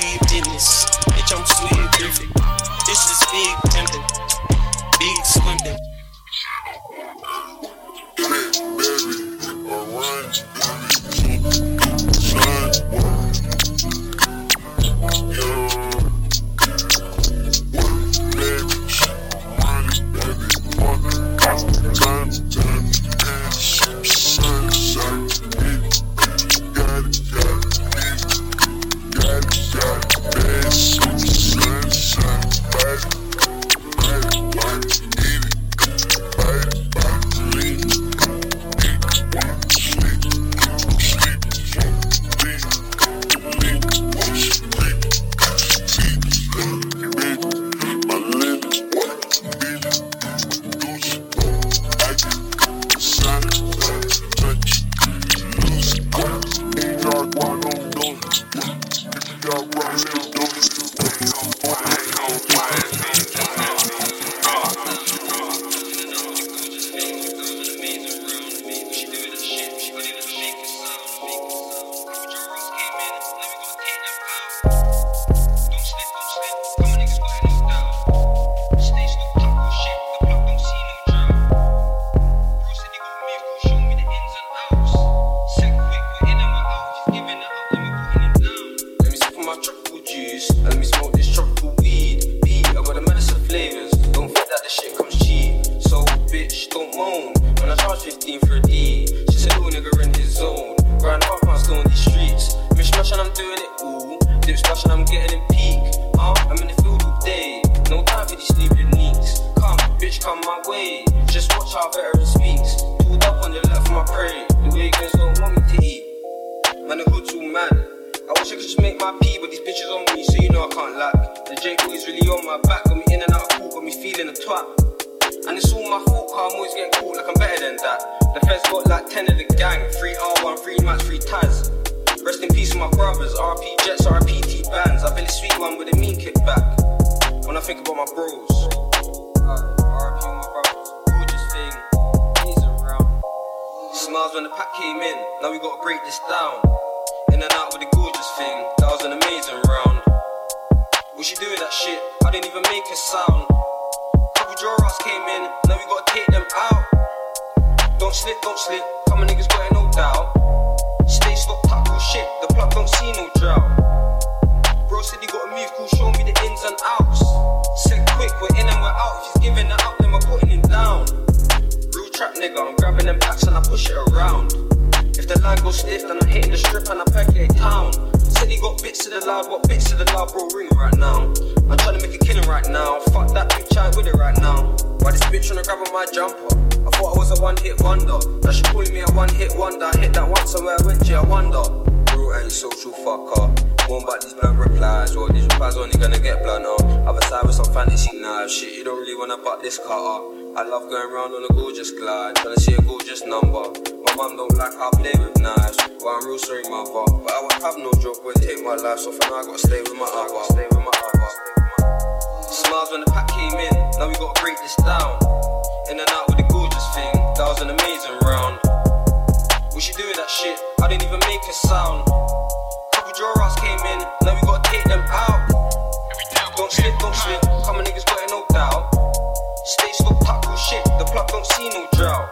This is big pimpin', big swimpin'. Man, the hood's all mad. I wish I could just make my pee, but these bitches on me, so you know I can't lack. The J boy's really on my back, got me in and out of court, got me feeling a twat. And it's all my fault, cause I'm always getting caught like I'm better than that. The feds got like ten of the gang, three R one, three Max, three Taz. Rest in peace with my brothers, R P Jets, R P T bands. I feel a sweet one with a mean kickback. When I think about my bros, R P my brothers, gorgeous thing, he's around. Smiles when the pack came in, now we gotta break this down. In and out with the gorgeous thing, that was an amazing round. What she do with that shit? I didn't even make a sound. Couple draw-outs came in, now we gotta take them out. Don't slip, don't slip, come on niggas got it no doubt. Stay stop, tackle shit, the plug don't see no drought. Bro said he got a move, cool, show me the ins and outs. Said quick, we're in and we're out, if he's giving it up, then we're putting him down. Real trap nigga, I'm grabbing them packs and I push it around. If the line goes stiff, then I'm hitting the strip and I percolate town. Said he got bits to the loud, what bits to the loud, bro, ring right now. I'm trying to make a killing right now, fuck that bitch, I ain't with it right now. Why this bitch tryna grab on my jumper? I thought I was a one-hit wonder. Now she calling me a one-hit wonder. I hit that once and where I went, yeah, I wonder. Bro, ain't social fucker. More about these blunt replies, or these replies only gonna get blunter. Other side with some fantasy knives, shit, you don't really wanna butt this cutter. I love going round on a gorgeous glide, trying to see a gorgeous number. My mum don't like how I play with knives, but I'm real sorry mother. But I won't have no joke when take my life, so for now I gotta stay with my other. Stay with my other. Smiles when the pack came in, now we gotta break this down. In and out with the gorgeous thing, that was an amazing round. What she do with that shit? I didn't even make a sound. Couple draw-outs came in, now we gotta take them out. Don't slip, don't slip, come on niggas got it no doubt. Stay stop, tackle shit, the plug don't see no drought.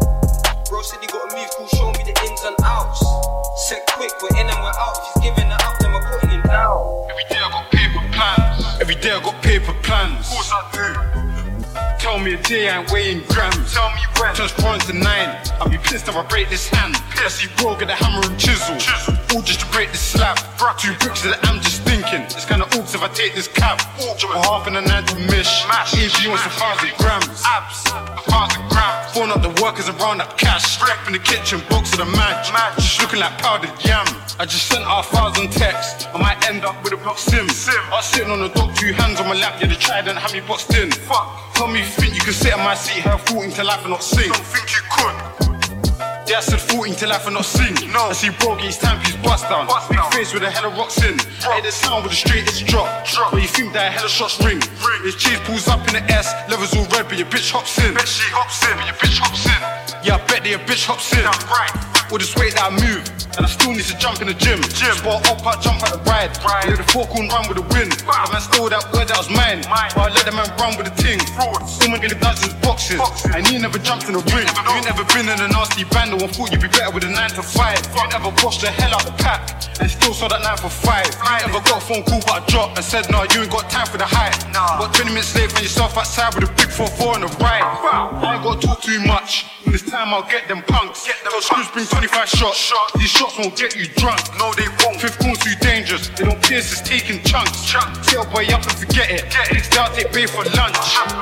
Bro said he got a move, cool, show me the ins and outs. Said quick, we're in and we're out, if he's giving it up, then we're putting him down. Every day I got paper plans, every day I got paper plans. Of course I do. Tell me a day I ain't weighing grams. Tell me when. Transparent to nine. I'll be pissed if I break this hand. I see bro get a hammer and chisel. chisel. All just to break this slab. Two bricks that I'm just thinking. It's kinda oops if I take this cab. For half and a nine to mish. A P wants a thousand grams. Abs, a thousand grams. Phone up the workers and round up cash. Rep in the kitchen, box of the match. Just looking like powdered yam. I just sent out a thousand texts. I might end up with a block sim. sim. I was sitting on the dock, two hands on my lap. Yeah, the trident had me boxed in. Fuck. Tell me you think you can sit in my seat, have fourteen to life and not sing. Don't think you could. Yeah, I said fourteen to life and not sing. No. I see bro get his timepiece bust down. Bust Big down. Face with a hell of rocks in. Drop. Hey, the sound with the straightest drop. drop. Where you think that a hell of shots ring. ring. His cheese pulls up in the S, levels all red, but your bitch hops in. Bet she hops in, but your bitch hops in. Yeah, I bet that your bitch hops in. That's right. All this weight that I move, and I still need to jump in the gym. gym. Spot up, I jump at the ride. Right. Yeah, the four corn run with the wind. Wow. The man stole that word that was mine. mine. But I let the man run with the ting. Frauds. All man get does is boxes. boxes. And you never jumped in the ring. You ain't never been in a nasty band. No one thought you'd be better with a nine to five. You ain't ever washed the hell out the pack and still saw that nine for five. You ain't ever got a phone call but I dropped and said, nah, you ain't got time for the hype. Nah. What twenty minutes late, find yourself outside with a big four four on the right. Wow. I ain't got to talk too much. When it's time, I'll get them punks. Get them screws, bring twenty-five shots. Shot. These shots won't get you drunk. No, they won't. Fifth corn's too dangerous. They don't pierce, it's taking chunks. Chunk. Tell boy up and forget it. Get it. Next day I'll take pay for lunch.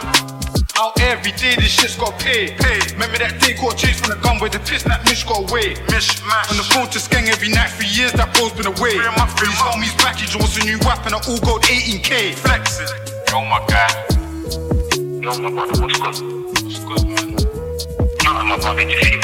Out every day, this shit's got pay. pay. Remember that day caught chase from the gun where the piss that Mish got away. Mish, mash. On the phone to Skeng every night for years, that bro's been away. These homies back, he wants a new weapon, I all gold eighteen K. Flexing. Yo, my guy. Yo, my brother, what's good? What's good, man? Nah, my brother, just shit.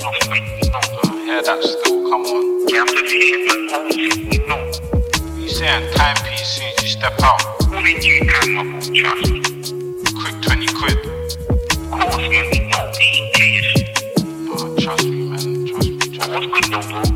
Yeah, that still, come on. Yeah, I'm just shit, man. No. You saying timepiece as soon as you step out. Only you can, my boy, trust me. Quick twenty quid. Of course, man, we know eighteen K is. Oh, trust me, man. Trust me, trust me. What's good though, bro?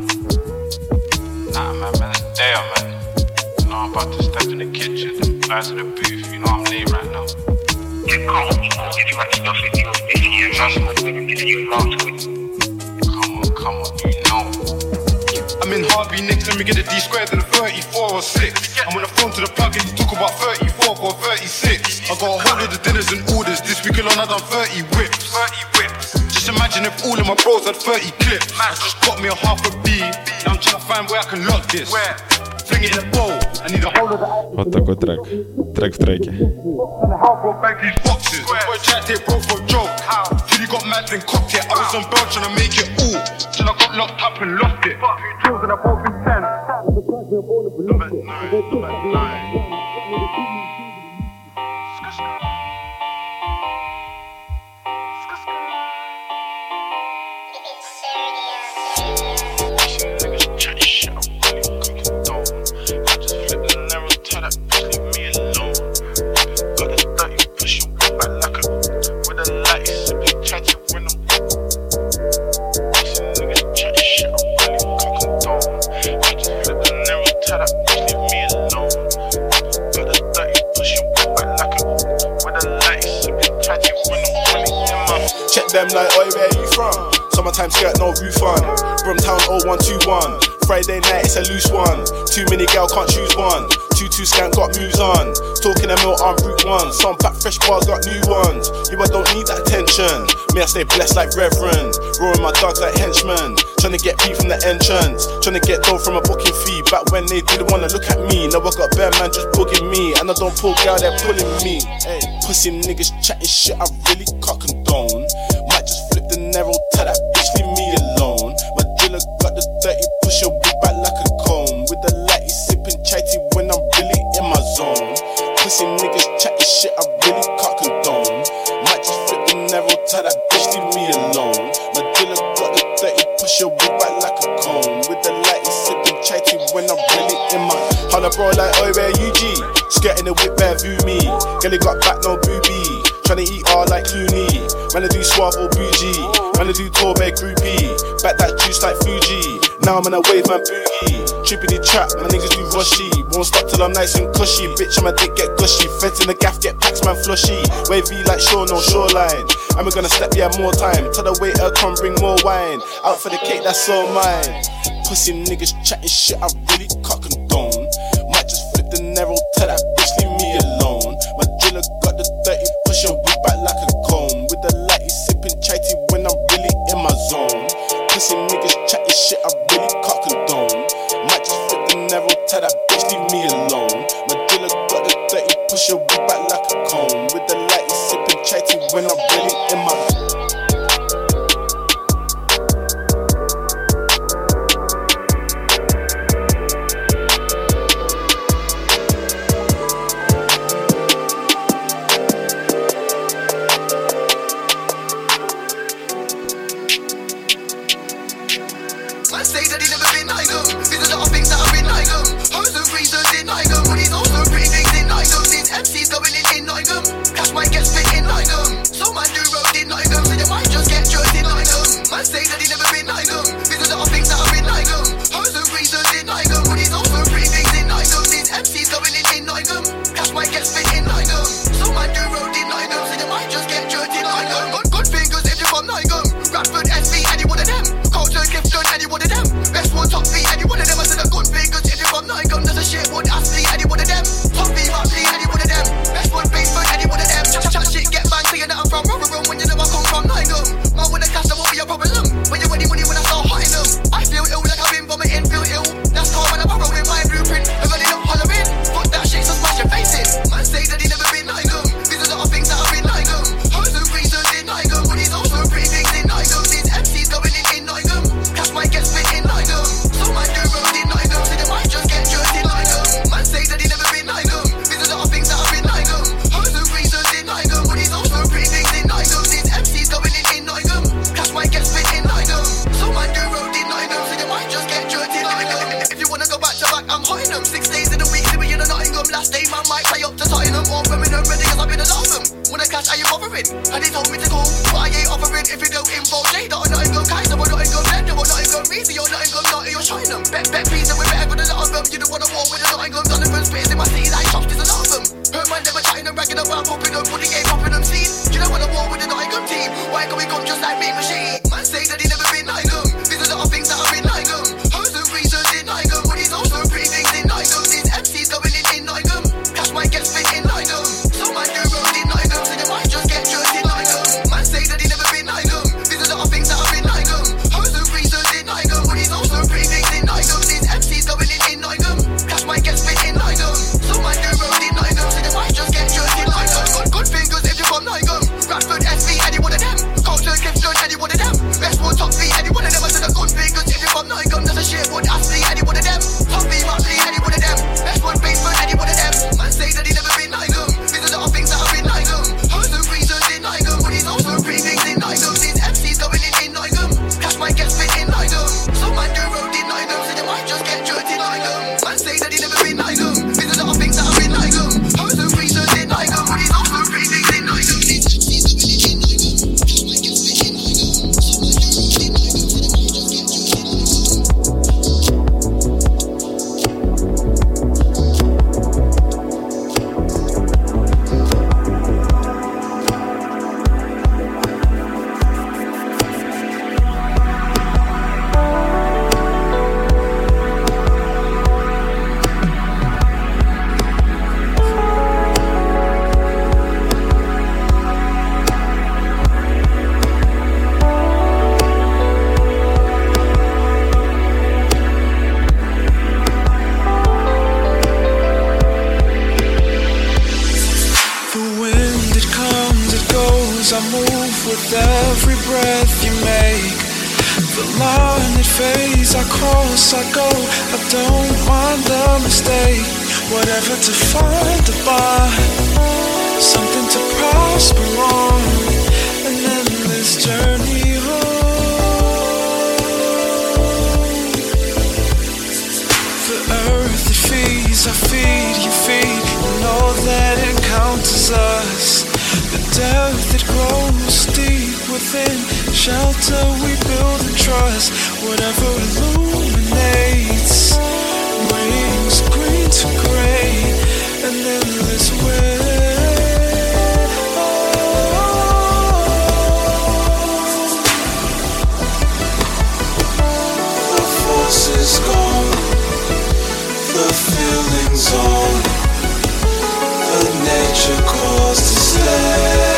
Nah, man, man, it's there, man. You know, I'm about to step in the kitchen, then fly to the booth. You know, I'm late right now. Yeah, come on, you know, if you got stuff in your face, yeah, trust me, we're gonna give you a lot to it. Come on, come on, you know. I'm in Harvey Nicks, let me get a D squared to the thirty-four or six. I'm on the phone to the plug and you talk about thirty-four or thirty-six. I got a whole of the dinners and orders. This week alone I done thirty whips. thirty whips. Just imagine if all of my bros had thirty clips. I just got me a half a B. Now I'm trying to find where I can lock this. Where? bring it in a bowl. I need a whole of the. Вот такой трек. Трек в треке. Boy, tried to take bro for a joke. Till he got mad and cocked it. I was on bail trying to make it all. Till I got locked up and lost it. Fuck you, tools and I both been ten. Number nine, number nine. Check them like, oi, where you from? Summertime skirt, no roof on. Brumtown oh one two one. Friday night, it's a loose one. Too many gal, can't choose one. Two two skank, got moves on. Talking a mill on route one. Some pack fresh bars, got new ones. You I don't need that attention. Me, I stay blessed like reverend. Roaring my dogs like henchmen. Tryna get P from the entrance. Tryna get dough from a booking fee. Back when they didn't wanna look at me. Now I got bare man just bugging me. And I don't pull gal, they're pulling me. Hey, pussy niggas chatting shit, I really can't condone. Might just flip the narrow, tell that bitch leave me alone. My dealer got the dirty, push your wig back like a comb. With the lighty sipping chatty when I'm really in my zone. Pussy niggas chatting shit, I really can't condone. Might just flip the narrow, tell that bitch leave me alone. My dealer got the dirty, push your wig back like a comb. With the lighty sipping chatty when I'm really in my. Holla bro like, oi, where you G? Skirting the whip, bare view me. Girl, got back, no booby. Tryna eat all like Clooney. Man, I do suave or bougie. Man, I do Torbay groupie. Back that juice like Fuji. Now I'm in a wave, man, boogie. Trippity trap, my niggas do rushy. Won't stop till I'm nice and cushy. Bitch, I'm a dick, get gushy. Feds in the gaff, get packs, man, flushy. Wavy like shore, no shoreline. And we're gonna step, yeah, more time. Tell the waiter, come bring more wine. Out for the cake, that's all mine. Pussy niggas chatting shit, I really can't condone. Might just flip the narrow, tell that bitch leave me alone. My driller got the dirty, push your wig back like a comb. With the lighty sipping chatty when I'm really in my zone. Pussy niggas chatting shit, I really can't condone. Might just flip the narrow, tell that bitch leave me alone. My driller got the dirty, push your wig back like a comb. With the lighty sipping chatty when I'm really in my zone. Man say that he never been Nigel. There's a lot of things that I've been Nigel. Hoes and reasons in Nigel. But he's also pretty things in Nigel. These M Cs going in in Nigel. Cash might get spit in Nigel. So man do road in Nigel. So you might just get jerked in Nigel. Man say that he never been Nigel. There's a lot of things that I've been Nigel. Hoes and reasons in Nigel. But he's also pretty things in Nigel. These M Cs going in in Nigel. Cash might get spit in Nigel. So man do road in Nigel. So you might just get jerked in Nigel. Good, good fingers if you're from Nigel. Radford, S V, any one of them. Culture, Clifton, any one of them. Best one, top three, any one of them. I said a good fingers if you're from Nigel. There's a shit one, Astley, any one of them. Top three, Motley, any one of them. Best one, Basement, any one of them. Chat, chat, shit, get bang, saying that I'm from Rotherham when you know I come from Nigel. Man, when I cash, that won't be a problem. When you want money, when I start hiding them. I feel ill like I've been vomiting, feel ill. That's calm when I'm borrowing my blueprint. I'm running up hollering. Fuck that shit, so smash your face in. Man say that he never been Nigel. There's a lot of things that I've been Nigel. Hoes and reasons in Nigel. But he's also pretty things in Nigel. These M Cs going in in Nigel. Cash might get spit in Nigel. So man do road in Nigel. So you might just get jerked in Nigel. Man say that he never been Nigel. There's a lot of things that I've been Nigel. Hoes and reasons in Nigel. But he's also pretty things in Nigel. These M Cs going in in Nigel. Cash might get spit in Nigel. So man do road in Nigel. So you might just get jerked in Nigel. If you wanna go back to back, I'm hiding them. Six days in a week, living in a Nottingham. Last day man might play up to Tottenham. Or feminine ready cause I've been alarming. When I cash, are you bothering? And they told me to call, but I ain't offering. If you don't involve Jada, I'm not even Kaiser, I'm not even Blender, I'm not even Reezy, you're not even Naughty, you're showing them. Bet, bet, pizza, we're better than a lot of them. You don't wanna war with a Nottingham, Donovan, spitting in my city like chops, there's a lot of them. Her man never chatting and bragging about popping them, but he ain't popping them seen. You don't wanna war with a Nottingham team, why can we come just like me machine? Man say that he never been Nottingham, there's a lot of things that I've been Nottingham. Hoes and reasons in Nottingham, but he's also pretty things in Nottingham. These M Cs going in in Nottingham, cash might get spit in Nottingham. So man do road in Nottingham, so you might just get jerked in Nottingham. Man say that he never been Nottingham, there's a lot of things that I've been Nottingham. Hoes and reasons in Nottingham, but he's also pretty things in Nottingham. These M Cs going in in Nottingham, cash might with every breath you make. The line it fades, I cross, I go. I don't mind the mistake. Whatever to find the bar, something to prosper on, an endless journey home. The earth it feeds, I feed, you feed. You know that it encounters us. The depth it grows deep within. Shelter we build and trust. Whatever illuminates, wings green to gray, an endless way. The force is gone, the feeling's on, the nature calls to stay.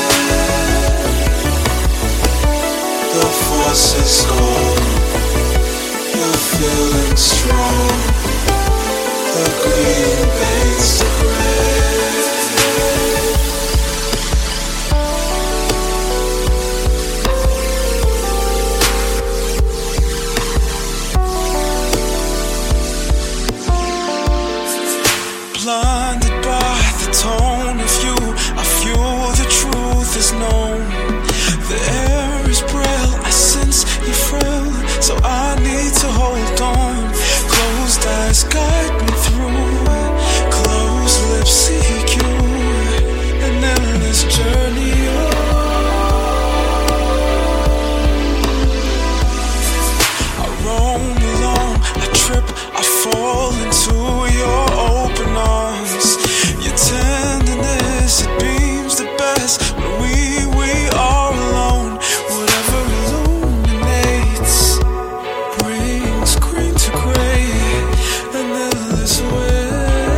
The force is gone, the feeling strong, the green paints the blinded by the tone of you, I feel the truth is known. The air is braille, I sense you frail, so I need to hold on. Closed eyes guide me through, closed lips seek you, an endless journey I roam along, I trip, I fall into your open arms. Your tenderness, it beams the best when we, we are alone. Whatever illuminates, brings green to gray, an endless way.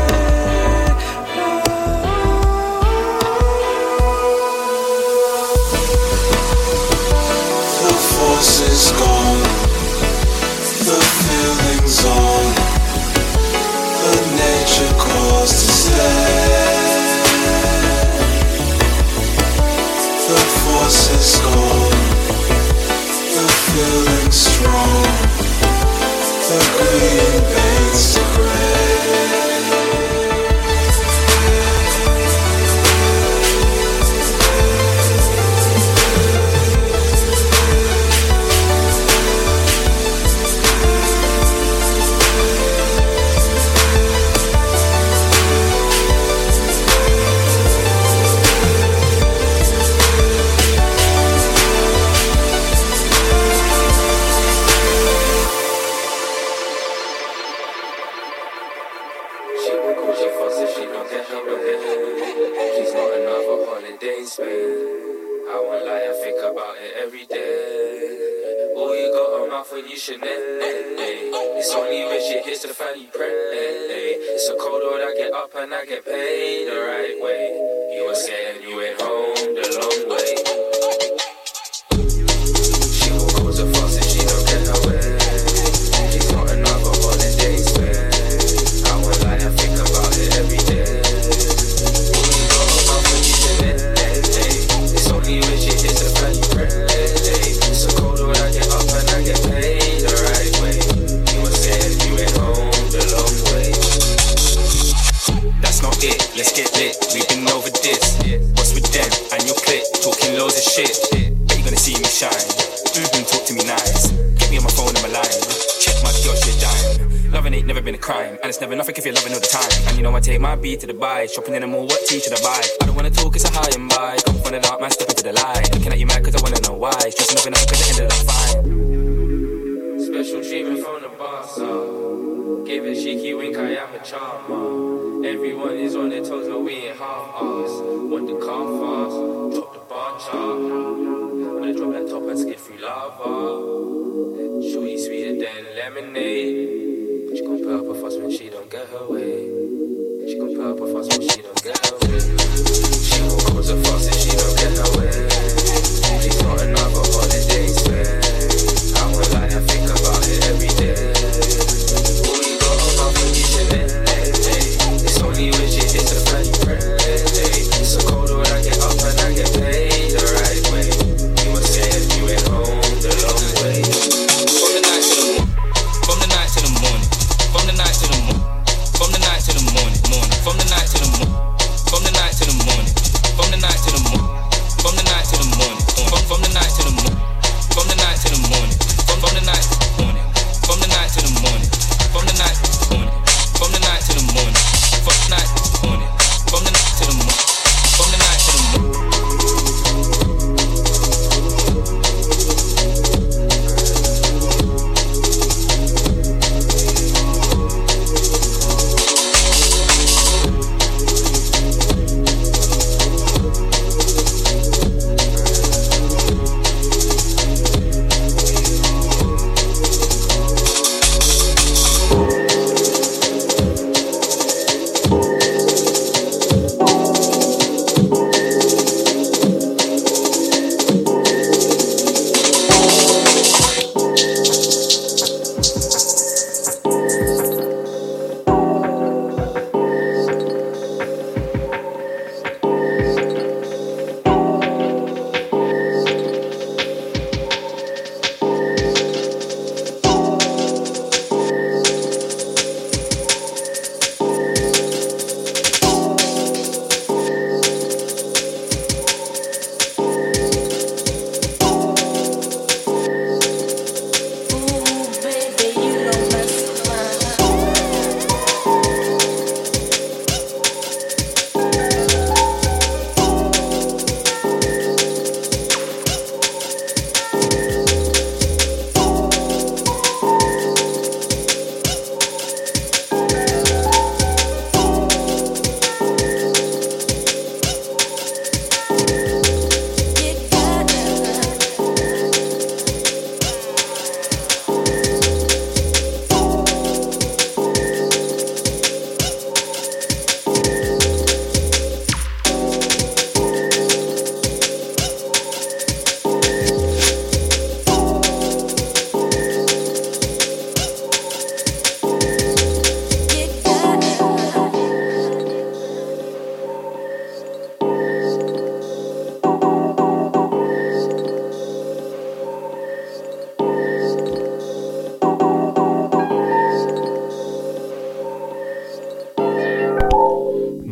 The force is gone, the feeling's on, the nature calls to stay. The force is gone, the feeling strong, the green paints the It's only when shit hits the fan you pray. It's a cold road, I get up and I get paid the right way. You were saying you went home the long way. She won't go so fast and she don't get her way. She's not another holiday spend. I won't lie, I think about it every day. Oh, you got a mouth when you should let it. It's only when shit hits the fan you pray. It's a cold road, I get up and I get paid the right way. Let's get lit, we've been over this. What's with them and your clique? Talking loads of shit. Bet you gonna see me shine. Mm-hmm, talk to me nice. Get me on my phone and my line. Check my girl, shit dime. Loving ain't never been a crime, and it's never nothing if you're loving all the time. And you know I take my beat to the buy. Shopping in the mall, what tea should I buy? I don't wanna talk, it's a high and by. Come from the dark, man, step into the light. Looking at you mad cause I wanna know why. Stressing nothing up cause it ended up fine. Special treatment from the boss, so give a cheeky wink, I am a charmer. Everyone is on their toes, but we ain't half-ass. Want the car fast, drop the bar chart. Wanna drop that top and skip through lava. Shorty sweeter than lemonade. She gon' put up a fuss when she don't get her way. She gon' put up a fuss when she don't get her way. She gon' cause a fuss if she don't get her way. She's not another holiday spend. I won't lie, I think about it every day. Oh, you got a mouth when you should let it. It's only when shit hits the fan you pray. It's a cold road, I get up and I get paid the right way.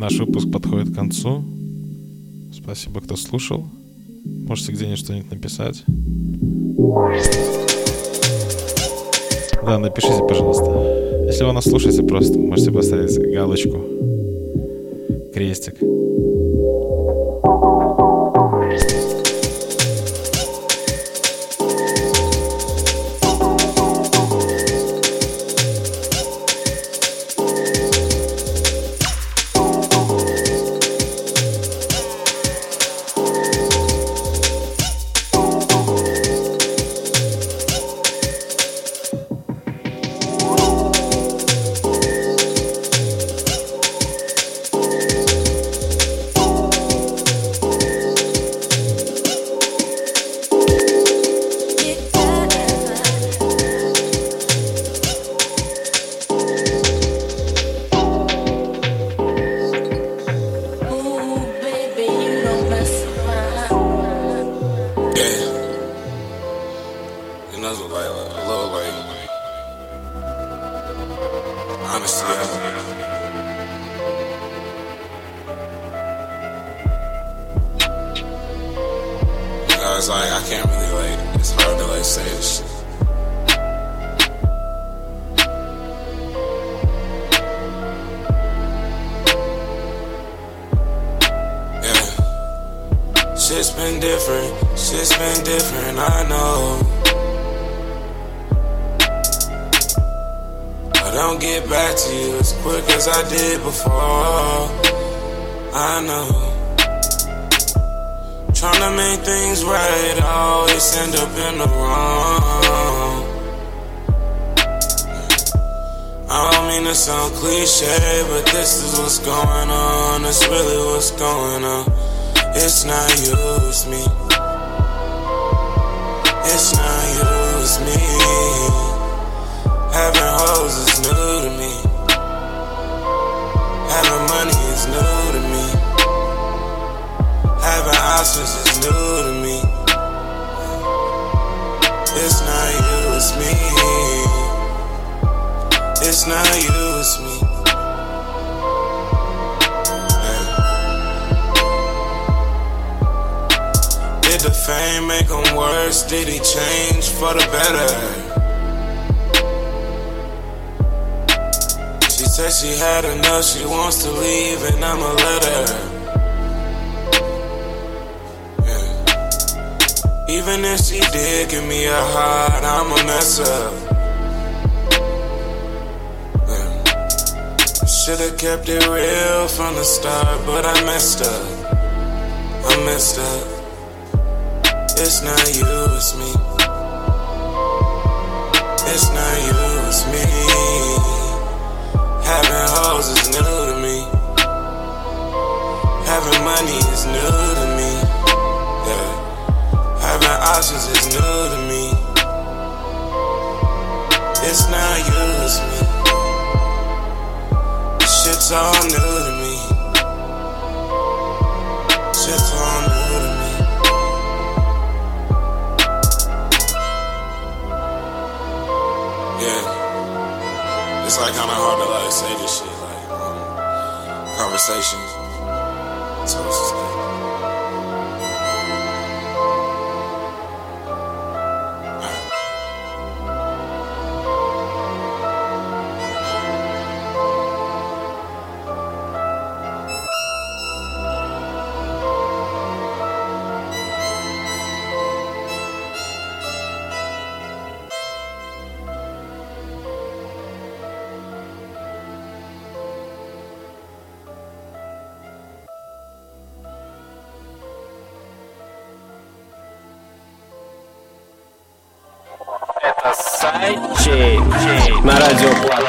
наш выпуск подходит к концу. Спасибо, кто слушал. Можете где-нибудь что-нибудь написать. Да, напишите, пожалуйста. Если вы нас слушаете, просто можете поставить галочку, крестик. It's like I can't really like. It's hard to like say this shit. Yeah. Shit's been different. Shit's been different. I know. I don't get back to you as quick as I did before. I know. Tryna make things right, I always end up in the wrong. I don't mean to sound cliche, but this is what's going on. It's really what's going on. It's not you, it's me. It's not you, it's me. Having hoes is new to me. Having money is new to me. Having options is new to me. It's not you, it's me. It's not you, it's me. Yeah. Did the fame make him worse? Did he change for the better? She said she had enough, she wants to leave, and I'ma let her. Even if she did give me a heart, I'ma mess up. Yeah. Should've kept it real from the start, but I messed up. I messed up. It's not you, it's me. It's not you, it's me. Having hoes is new to me. Having money is new to me. Yeah. Having options is new to me. It's not you, it's me. Shit's all new to me. Shit's all new to me. Yeah. It's like kinda hard to like say this shit, like um, conversations. So it's just like Сайдчейн на радио Плата.